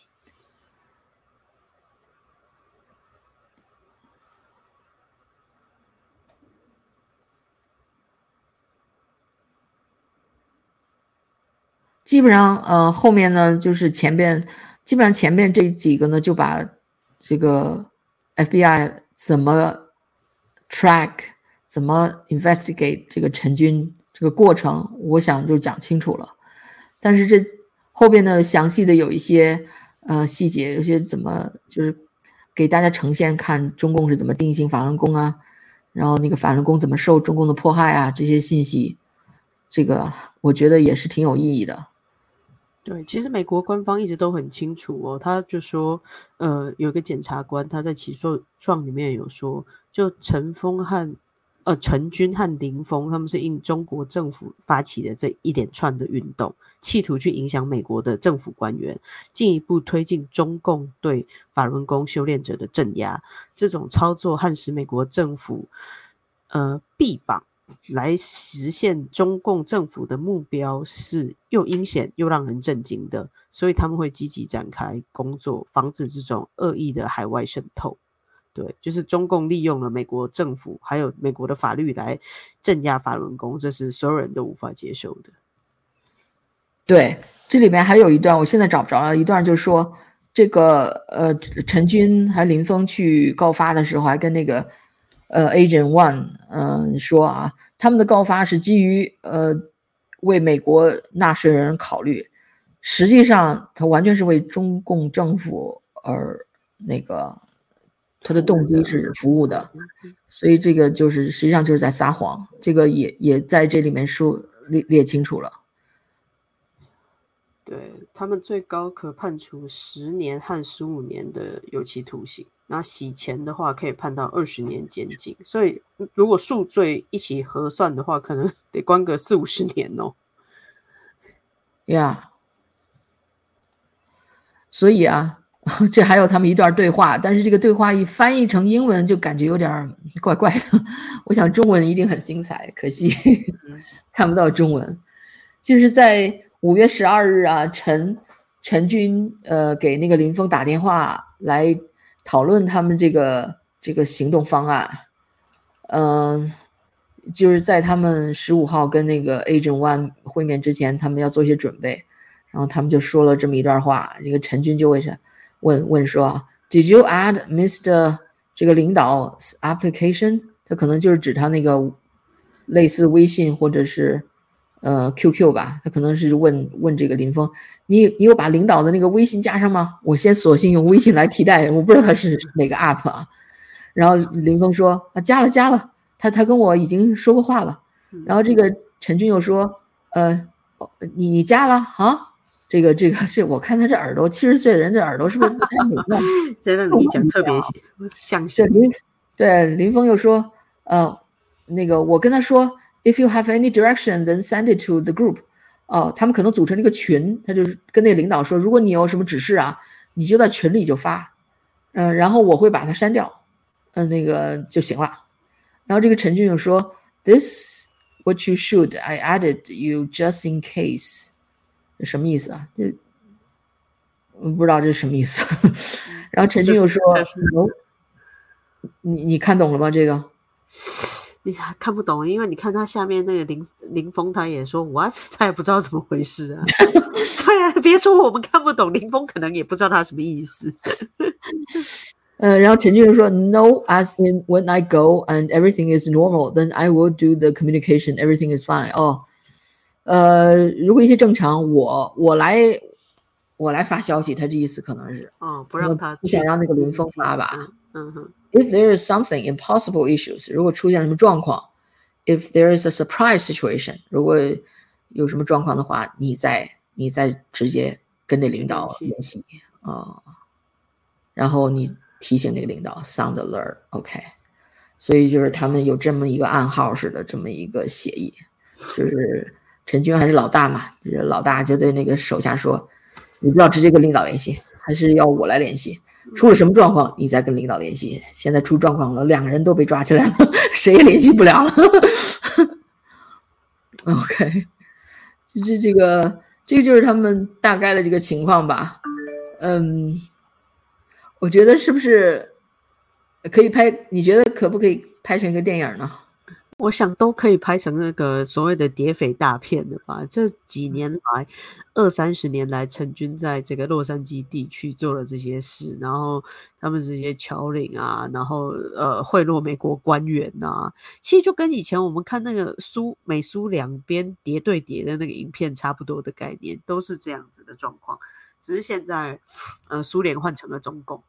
基本上后面呢就是基本上前面这几个呢就把这个 FBI 怎么 track 怎么 investigate 这个陈军这个过程我想就讲清楚了。但是这后边呢详细的有一些细节，有些怎么就是给大家呈现看中共是怎么定性法轮功啊，然后那个法轮功怎么受中共的迫害啊，这些信息这个我觉得也是挺有意义的。 对，其实美国官方一直都很清楚哦，他就说，有一个检察官他在起诉状里面有说，就陈军和林峰他们是应中国政府发起的这一连串的运动，企图去影响美国的政府官员，进一步推进中共对法轮功修炼者的镇压，这种操作和使美国政府臂膀来实现中共政府的目标是又阴险又让人震惊的，所以他们会积极展开工作，防止这种恶意的海外渗透。对，就是中共利用了美国政府还有美国的法律来镇压法轮功，这是所有人都无法接受的。 对，这里面还有一段我现在找不着了，一段就是说这个陈军还林峰去告发的时候还跟那个Agent One 说啊，他们的告发是基于为美国纳税人考虑，实际上他完全是为中共政府而那个他的动机是服务的，所以这个就是实际上就是在撒谎，这个也在这里面列清楚了。 对，他们最高可判处10年和15年的有期徒刑，那洗钱的话可以判到20年监禁，所以如果数罪一起核算的话，可能得关个40-50年哦。 呀，所以啊，这还有他们一段对话，但是这个对话一翻译成英文就感觉有点怪怪的。我想中文一定很精彩，可惜看不到中文。就是在5月12日啊，陈军给那个林峰打电话来讨论他们这个行动方案。就是在他们15号跟那个 Agent One 会面之前，他们要做一些准备，然后他们就说了这么一段话。这个陈军就问说 Did you add Mr. 这个领导 application？ 他可能就是指他那个类似微信或者是QQ 吧，他可能是问这个林峰，你有把领导的那个微信加上吗？我先索性用微信来替代，我不知道他是哪个 app 啊。然后林峰说加了，他跟我已经说过话了。然后这个陈军又说你加了啊？这个是我看他这耳朵，70岁的人这耳朵是不是不太美妙？ 真的你讲特别像对，林峰又说那个我跟他说 If you have any direction, then send it to the group. 他们可能组成了一个群，他就是跟那个领导说，如果你有什么指示啊，你就在群里就发，然后我会把它删掉，那个就行了。然后这个陈俊又说 ，This what you should. I added you just in case. 什么意思啊？不知道这是什么意思。然后陈俊又说，你看懂了吗？这个？ 你还看不懂，因为你看他下面那个林峰，他也说我他也不知道怎么回事啊。对啊，别说我们看不懂，林峰可能也不知道他什么意思。 然后陈俊说 No, as in when I go and everything is normal, then I will do the communication, everything is fine. 如果一切正常，我来发消息，他这意思可能是不让他不想让那个林峰发吧。 哼。 If there is something impossible issues， 如果出现什么状况 ，if there is a surprise situation， 如果有什么状况的话，你再直接跟那领导联系然后你提醒那个领导 sound alert，OK，所以就是他们有这么一个暗号式的这么一个协议，就是陈军还是老大嘛，就是老大就对那个手下说，你不要直接跟领导联系，还是要我来联系。出了什么状况，你再跟领导联系。现在出状况了，2个人都被抓起来了，谁也联系不了了。OK， 这个就是他们大概的这个情况吧。我觉得是不是可以拍？你觉得可不可以拍成一个电影呢？ 我想都可以拍成那个所谓的谍匪大片的吧。这几年来，20-30年来，陈军在这个洛杉矶地区做了这些事，然后他们这些侨领啊，然后贿赂美国官员啊，其实就跟以前我们看那个美苏两边谍对谍的那个影片差不多的概念，都是这样子的状况。只是现在苏联换成了中共。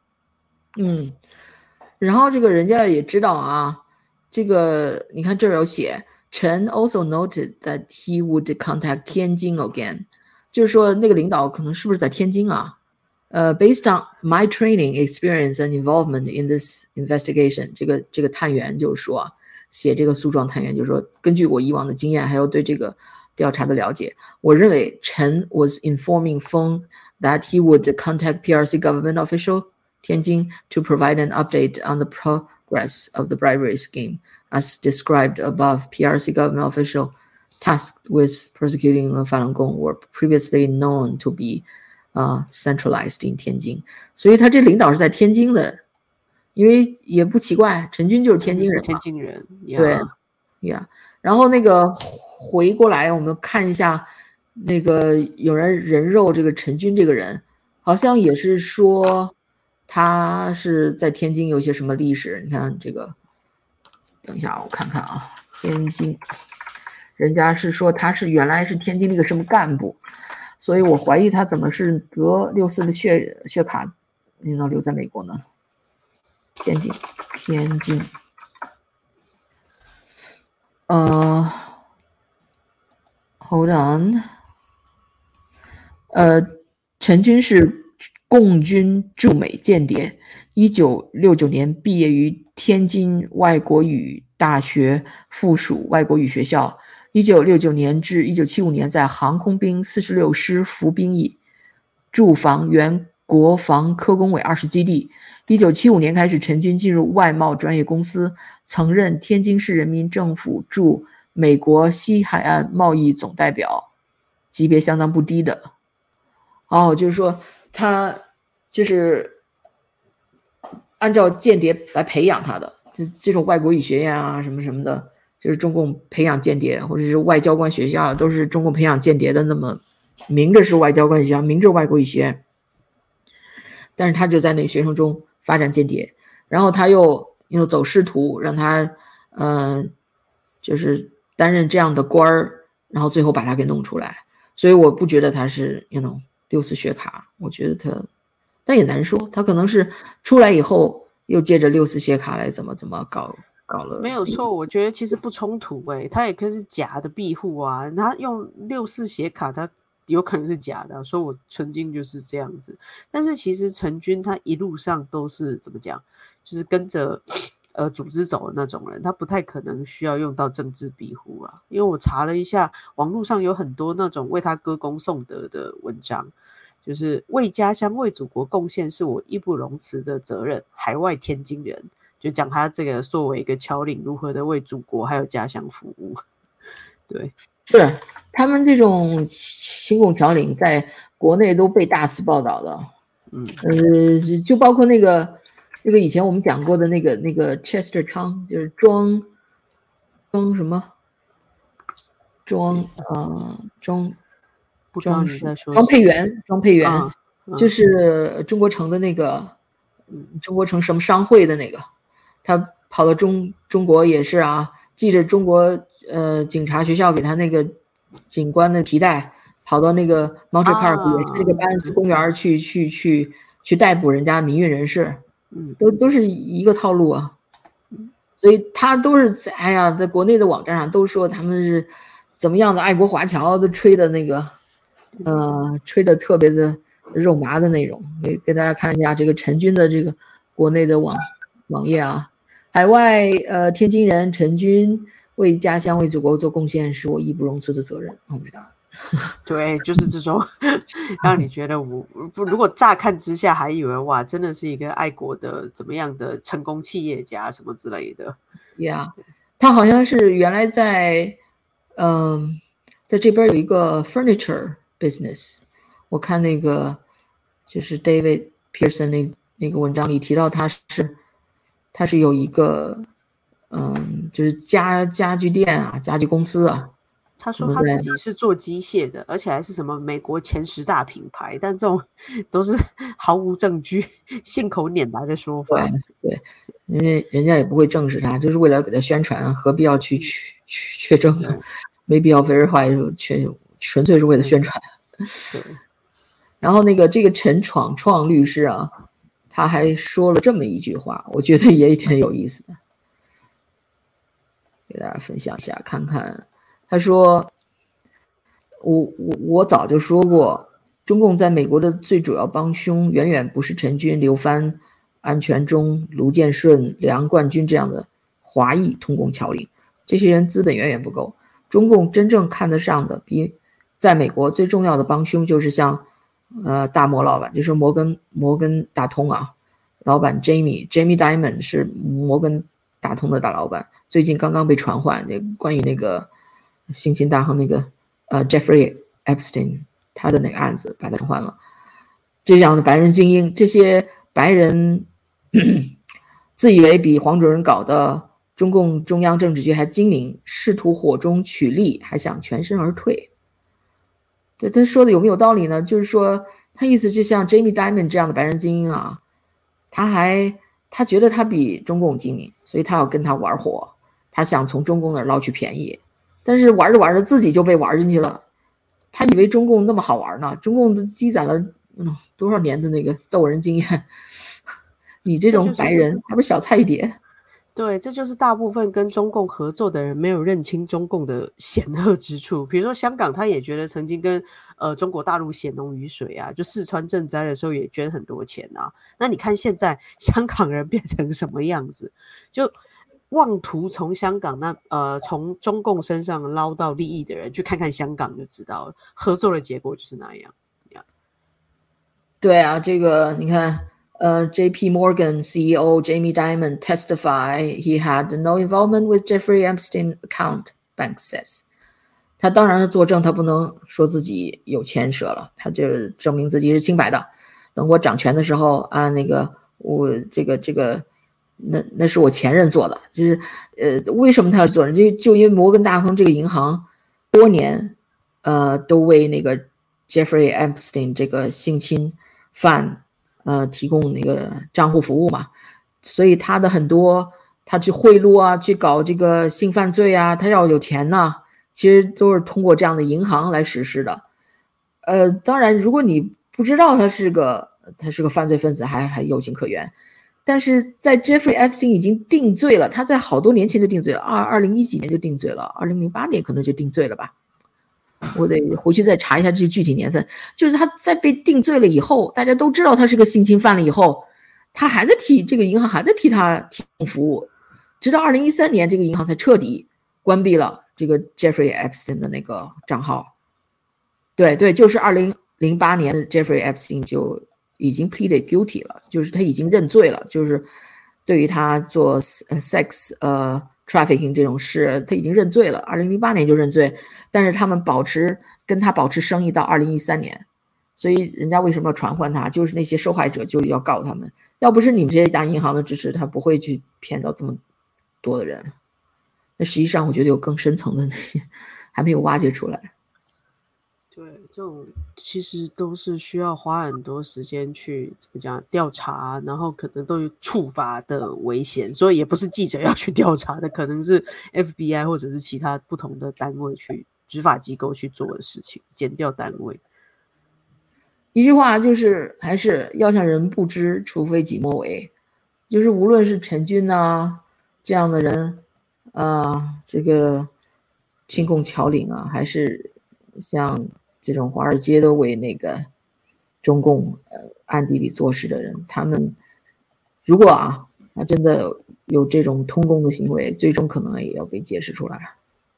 然后这个人家也知道啊。这个你看这儿有写 Chen also noted that he would contact Tianjin again， 就是说那个领导可能是不是在天津啊？Based on my training, experience and involvement in this investigation， 这个探员就是说写这个诉状探员就是说，根据我以往的经验还有对这个调查的了解，我认为 Chen was informing Feng that he would contact PRC government official Tianjin to provide an update on the progress of the bribery scheme. As described above, PRC government official tasked with prosecuting Falun Gong were previously known to be centralized in Tianjin. 所以他这领导是在天津的，因为也不奇怪，陈军就是天津人嘛。 天津人， 对，yeah。然后那个回过来，我们看一下那个有人肉这个陈军这个人，好像也是说他是在天津有些什么历史。你看这个，等一下我看看啊，天津，人家是说他是原来是天津那个什么干部，所以我怀疑他怎么是得64的血卡，你能留在美国呢？天津。Hold on， 陈军是共军驻美间谍，1969年毕业于天津外国语大学附属外国语学校，1969年至1975年在航空兵46师服兵役，驻防原国防科工委20基地。1975年开始，陈军进入外贸专业公司，曾任天津市人民政府驻美国西海岸贸易总代表，级别相当不低的。就是说他就是按照间谍来培养他的，就这种外国语学院啊什么什么的，就是中共培养间谍，或者是外交官学校都是中共培养间谍的，那么明着是外交官学校，明着外国语学院，但是他就在那个学生中发展间谍，然后他又走仕途，让他就是担任这样的官儿，然后最后把他给弄出来。所以我不觉得他是64血卡，我觉得他，但也难说，他可能是出来以后又借着64血卡来怎么搞了。 没有错，我觉得其实不冲突他也可以是假的庇护啊，他用64血卡，他有可能是假的，说我曾经就是这样子。但是其实陈军他一路上都是怎么讲，就是跟着组织走的那种人，他不太可能需要用到政治庇护啊。因为我查了一下，网络上有很多那种为他歌功颂德的文章，就是为家乡为祖国贡献是我义不容辞的责任，海外天津人，就讲他这个作为一个侨领如何的为祖国还有家乡服务。对， 是他们这种亲共侨领在国内都被大肆报道的。就包括那个以前我们讲过的那个 Chester 昌，就是装什么庄不知道你在说庄佩元， 嗯就是中国城的那个，中国城什么商会的那个，他跑到中国也是啊，系着中国警察学校给他那个警官的皮带，跑到那个 Monterey Park 也是那个班子公园去逮捕人家民运人士，都是一个套路啊。所以他都是在国内的网站上都说他们是怎么样的爱国华侨，都吹的那个吹的特别的肉麻的内容。给大家看一下这个陈军的这个国内的网页啊，海外天津人陈军为家乡为祖国做贡献是我义不容辞的责任。 对，就是这种让你觉得如果乍看之下还以为哇，真的是一个爱国的怎么样的成功企业家什么之类的。 Yeah， 他好像是原来在在这边有一个 furniture business， 我看那个就是 David Pearson 那个文章里提到他是有一个就是家具店啊，家具公司啊。 他说他自己是做机械的，而且还是什么美国前10大品牌，但这种都是毫无证据、信口拈来的说法。 对，因为人家也不会证实他，就是为了给他宣传，何必要去确证呢？没必要 verify， 纯粹是为了宣传。然后这个陈创律师啊，他还说了这么一句话，我觉得也挺有意思的，给大家分享一下看看。他说我早就说过，中共在美国的最主要帮凶远远不是陈军、刘帆、安全忠、卢建顺、梁冠军这样的华裔通共侨领，这些人资本远远不够。中共真正看得上的比在美国最重要的帮凶就是像大摩老板，就是摩根大通啊，老板 Jamie Dimon 是摩根大通的大老板，最近刚刚被传唤，关于那个性侵大亨那个Jeffrey Epstein 他的那个案子把他传唤了。这样的白人精英，这些白人自以为比黄主任搞的中共中央政治局还精明，试图火中取栗，还想全身而退。他说的有没有道理呢？就是说他意思就像 Jamie Dimon 这样的白人精英啊，他觉得他比中共精明，所以他要跟他玩火，他想从中共那儿捞取便宜，但是玩着玩着自己就被玩进去了。他以为中共那么好玩呢，中共积攒了多少年的那个斗人经验，你这种白人还不是小菜一碟。 对，这就是大部分跟中共合作的人没有认清中共的险恶之处。比如说香港，他也觉得曾经跟中国大陆血浓于水啊，就四川赈灾的时候也捐很多钱啊。那你看现在香港人变成什么样子，就妄图从香港从中共身上捞到利益的人，去看看香港就知道了，合作的结果就是那样。 对啊，这个你看。JP Morgan CEO Jamie Dimon testify he had no involvement with Jeffrey Epstein account, bank says. 他当然作证，他不能说自己有牵涉了，他就证明自己是清白的。等我掌权的时候啊，我那是我前任做的，就是为什么他要做呢？就因为摩根大通这个银行多年都为那个 Jeffrey Epstein 这个性侵犯提供那个账户服务嘛，所以他的很多他去贿赂啊，去搞这个性犯罪啊，他要有钱呢，其实都是通过这样的银行来实施的。当然如果你不知道他是个犯罪分子还有情可原，但是在 Jeffrey Epstein 已经定罪了，他在好多年前就定罪了，2010几年就定罪了，2008年可能就定罪了吧。我得回去再查一下这具体年份。就是他在被定罪了以后，大家都知道他是个性侵犯了以后，他还在这个银行还在替他提供服务，直到2013年这个银行才彻底关闭了这个 Jeffrey Epstein 的那个账号。对，就是2008年的 Jeffrey Epstein 就已经 pleaded guilty 了，就是他已经认罪了，就是对于他做sex trafficking 这种事他已经认罪了，2008年就认罪，但是他们跟他保持生意到2013年，所以人家为什么要传唤他，就是那些受害者就要告他们，要不是你们这些大银行的支持，他不会去骗到这么多的人。 那实际上我觉得有更深层的那些还没有挖掘出来。 对，这种其实都是需要花很多时间去怎么讲调查，然后可能都有触发的危险，所以也不是记者要去调查的，可能是 FBI 或者是其他不同的单位去执法机构去做的事情，检调单位。 一句话就是还是要向人不知，除非己莫为。就是无论是陈军啊这样的人，这个亲共侨领啊，还是像这种华尔街都为那个中共暗地里做事的人，他们如果他真的有这种通共的行为，最终可能也要被揭示出来。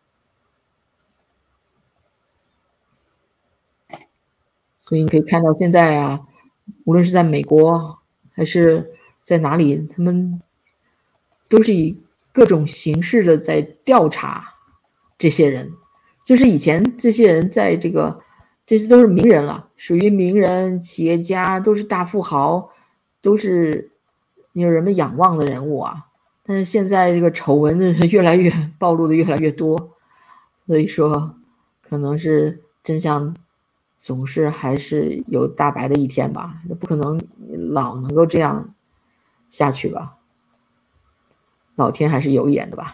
所以你可以看到现在无论是在美国还是在哪里，他们都是以各种形式的在调查这些人。就是以前这些人在这些都是名人了，属于名人、企业家，都是大富豪，都是有人们仰望的人物但是现在这个丑闻的越来越暴露的越来越多，所以说可能是真相总是还是有大白的一天吧，不可能老能够这样下去吧，老天还是有眼的吧。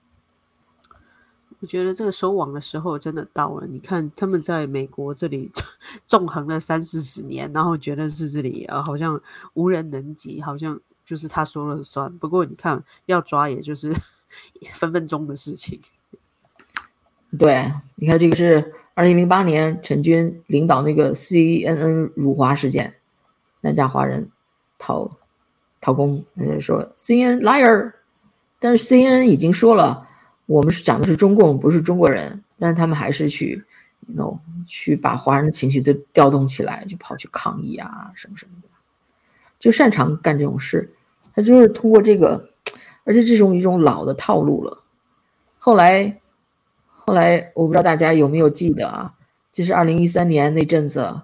我觉得这个收网的时候真的到了。你看他们在美国这里纵横了30-40年，然后觉得是这里好像无人能及，好像就是他说了算。不过你看要抓也就是分分钟的事情。 对，你看这个是2008年陈军领导那个 CNN 辱华事件，南加华人讨公，说 CNN liar， 但是 CNN 已经说了我们是讲的是中共，不是中国人，但是他们还是去把华人的情绪都调动起来，就跑去抗议什么什么的，就擅长干这种事。他就是通过这个，而且这种一种老的套路了。后来我不知道大家有没有记得就是2013年那阵子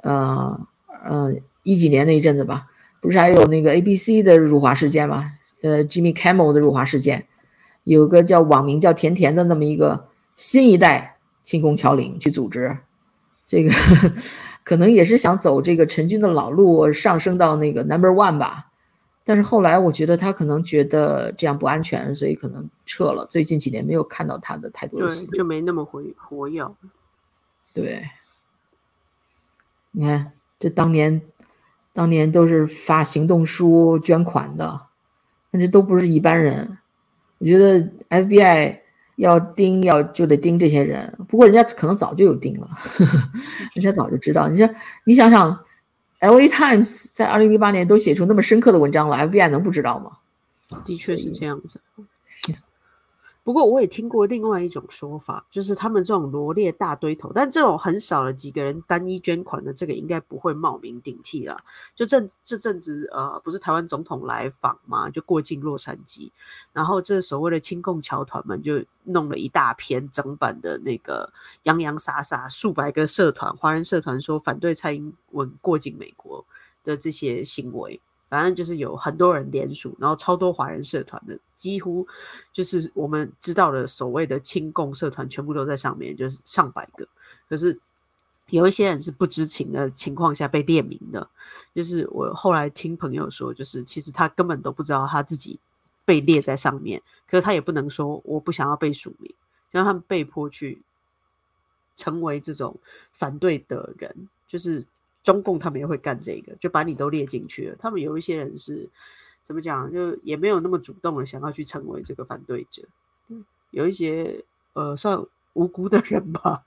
，10几年那一阵子吧，不是还有那个 ABC 的辱华事件吗？Jimmy Kimmel 的辱华事件。有个网名叫甜甜的那么一个新一代亲共侨领去组织，这个可能也是想走这个陈军的老路，上升到那个 No.1 吧。但是后来我觉得他可能觉得这样不安全，所以可能撤了。最近几年没有看到他的太多的行动， 对，就没那么活跃。对， 你看这当年都是发行动书捐款的，但这都不是一般人。我觉得 FBI 要就得盯这些人，不过人家可能早就有盯了，人家早就知道。你想想 LA Times 在2008年都写出那么深刻的文章了， FBI 能不知道吗？ 的确是这样子。不过我也听过另外一种说法，就是他们这种罗列大堆头，但这种很少的几个人单一捐款的，这个应该不会冒名顶替啦。就这阵子不是台湾总统来访嘛，就过境洛杉矶，然后这所谓的亲共侨团们就弄了一大篇整版的那个洋洋洒洒数百个社团，华人社团说反对蔡英文过境美国的这些行为。反正就是有很多人联署，然后超多华人社团的，几乎就是我们知道的所谓的亲共社团全部都在上面，就是上百个。可是有一些人是不知情的情况下被列名的，就是我后来听朋友说，就是其实他根本都不知道他自己被列在上面，可是他也不能说我不想要被署名，让他们被迫去成为这种反对的人，就是中共他们也会干这个，就把你都列进去了。他们有一些人是怎么讲，就也没有那么主动的想要去成为这个反对者，有一些算无辜的人吧。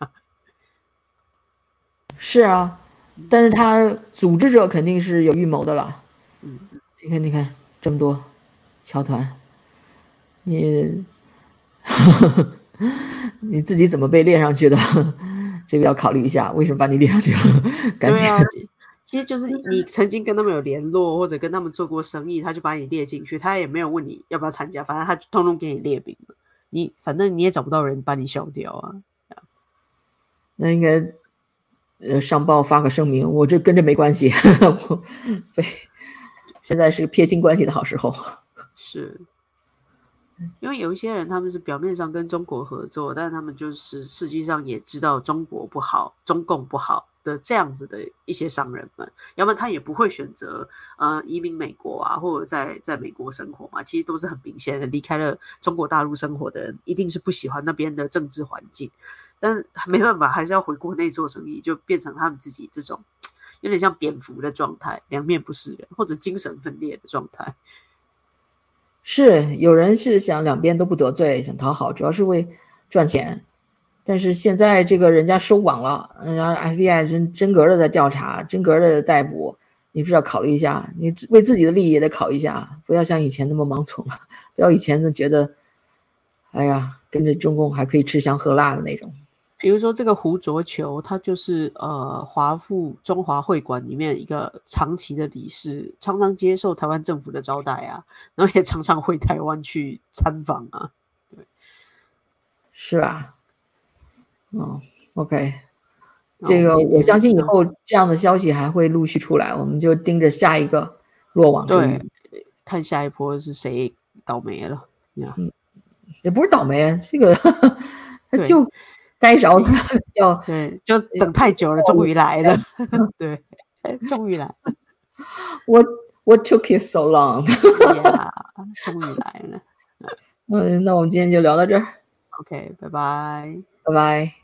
是啊，但是他组织者肯定是有预谋的了。你看这么多侨团，你自己怎么被列上去的？这个要考虑一下，为什么把你列上去了？感觉对啊，其实就是你曾经跟他们有联络，或者跟他们做过生意，他就把你列进去，他也没有问你要不要参加，反正他就通通给你列名了。反正你也找不到人把你消掉啊。 那应该上报发个声明，我这跟这没关系。对，现在是撇清关系的好时候。 是， 因为有一些人他们是表面上跟中国合作，但是他们就是实际上也知道中国不好，中共不好的这样子的一些商人们，要不然他也不会选择移民美国啊，或者在美国生活嘛。其实都是很明显的，离开了中国大陆生活的人，一定是不喜欢那边的政治环境，但没办法，还是要回国内做生意，就变成他们自己这种有点像蝙蝠的状态，两面不是人，或者精神分裂的状态。 是有人是想两边都不得罪，想讨好，主要是为赚钱。但是现在这个人家收网了，人家 FBI 真格的在调查，真格的逮捕，你不是要考虑一下，你为自己的利益也得考虑一下，不要像以前那么盲从了，不要以前的觉得，哎呀，跟着中共还可以吃香喝辣的那种。 比如说这个胡卓球，他就是华附中华会馆里面一个长期的理事，常常接受台湾政府的招待啊，然后也常常回台湾去参访啊。对， 是吧？OK， 这个我相信以后这样的消息还会陆续出来，我们就盯着下一个落网之鱼， 看下一波是谁倒霉了。 也不是倒霉，这个就该着要对，就等太久了，终于来了。对，终于来了。 What took you so long？ 终于来了。 那我们今天就聊到这儿。 OK， 拜拜。 拜拜。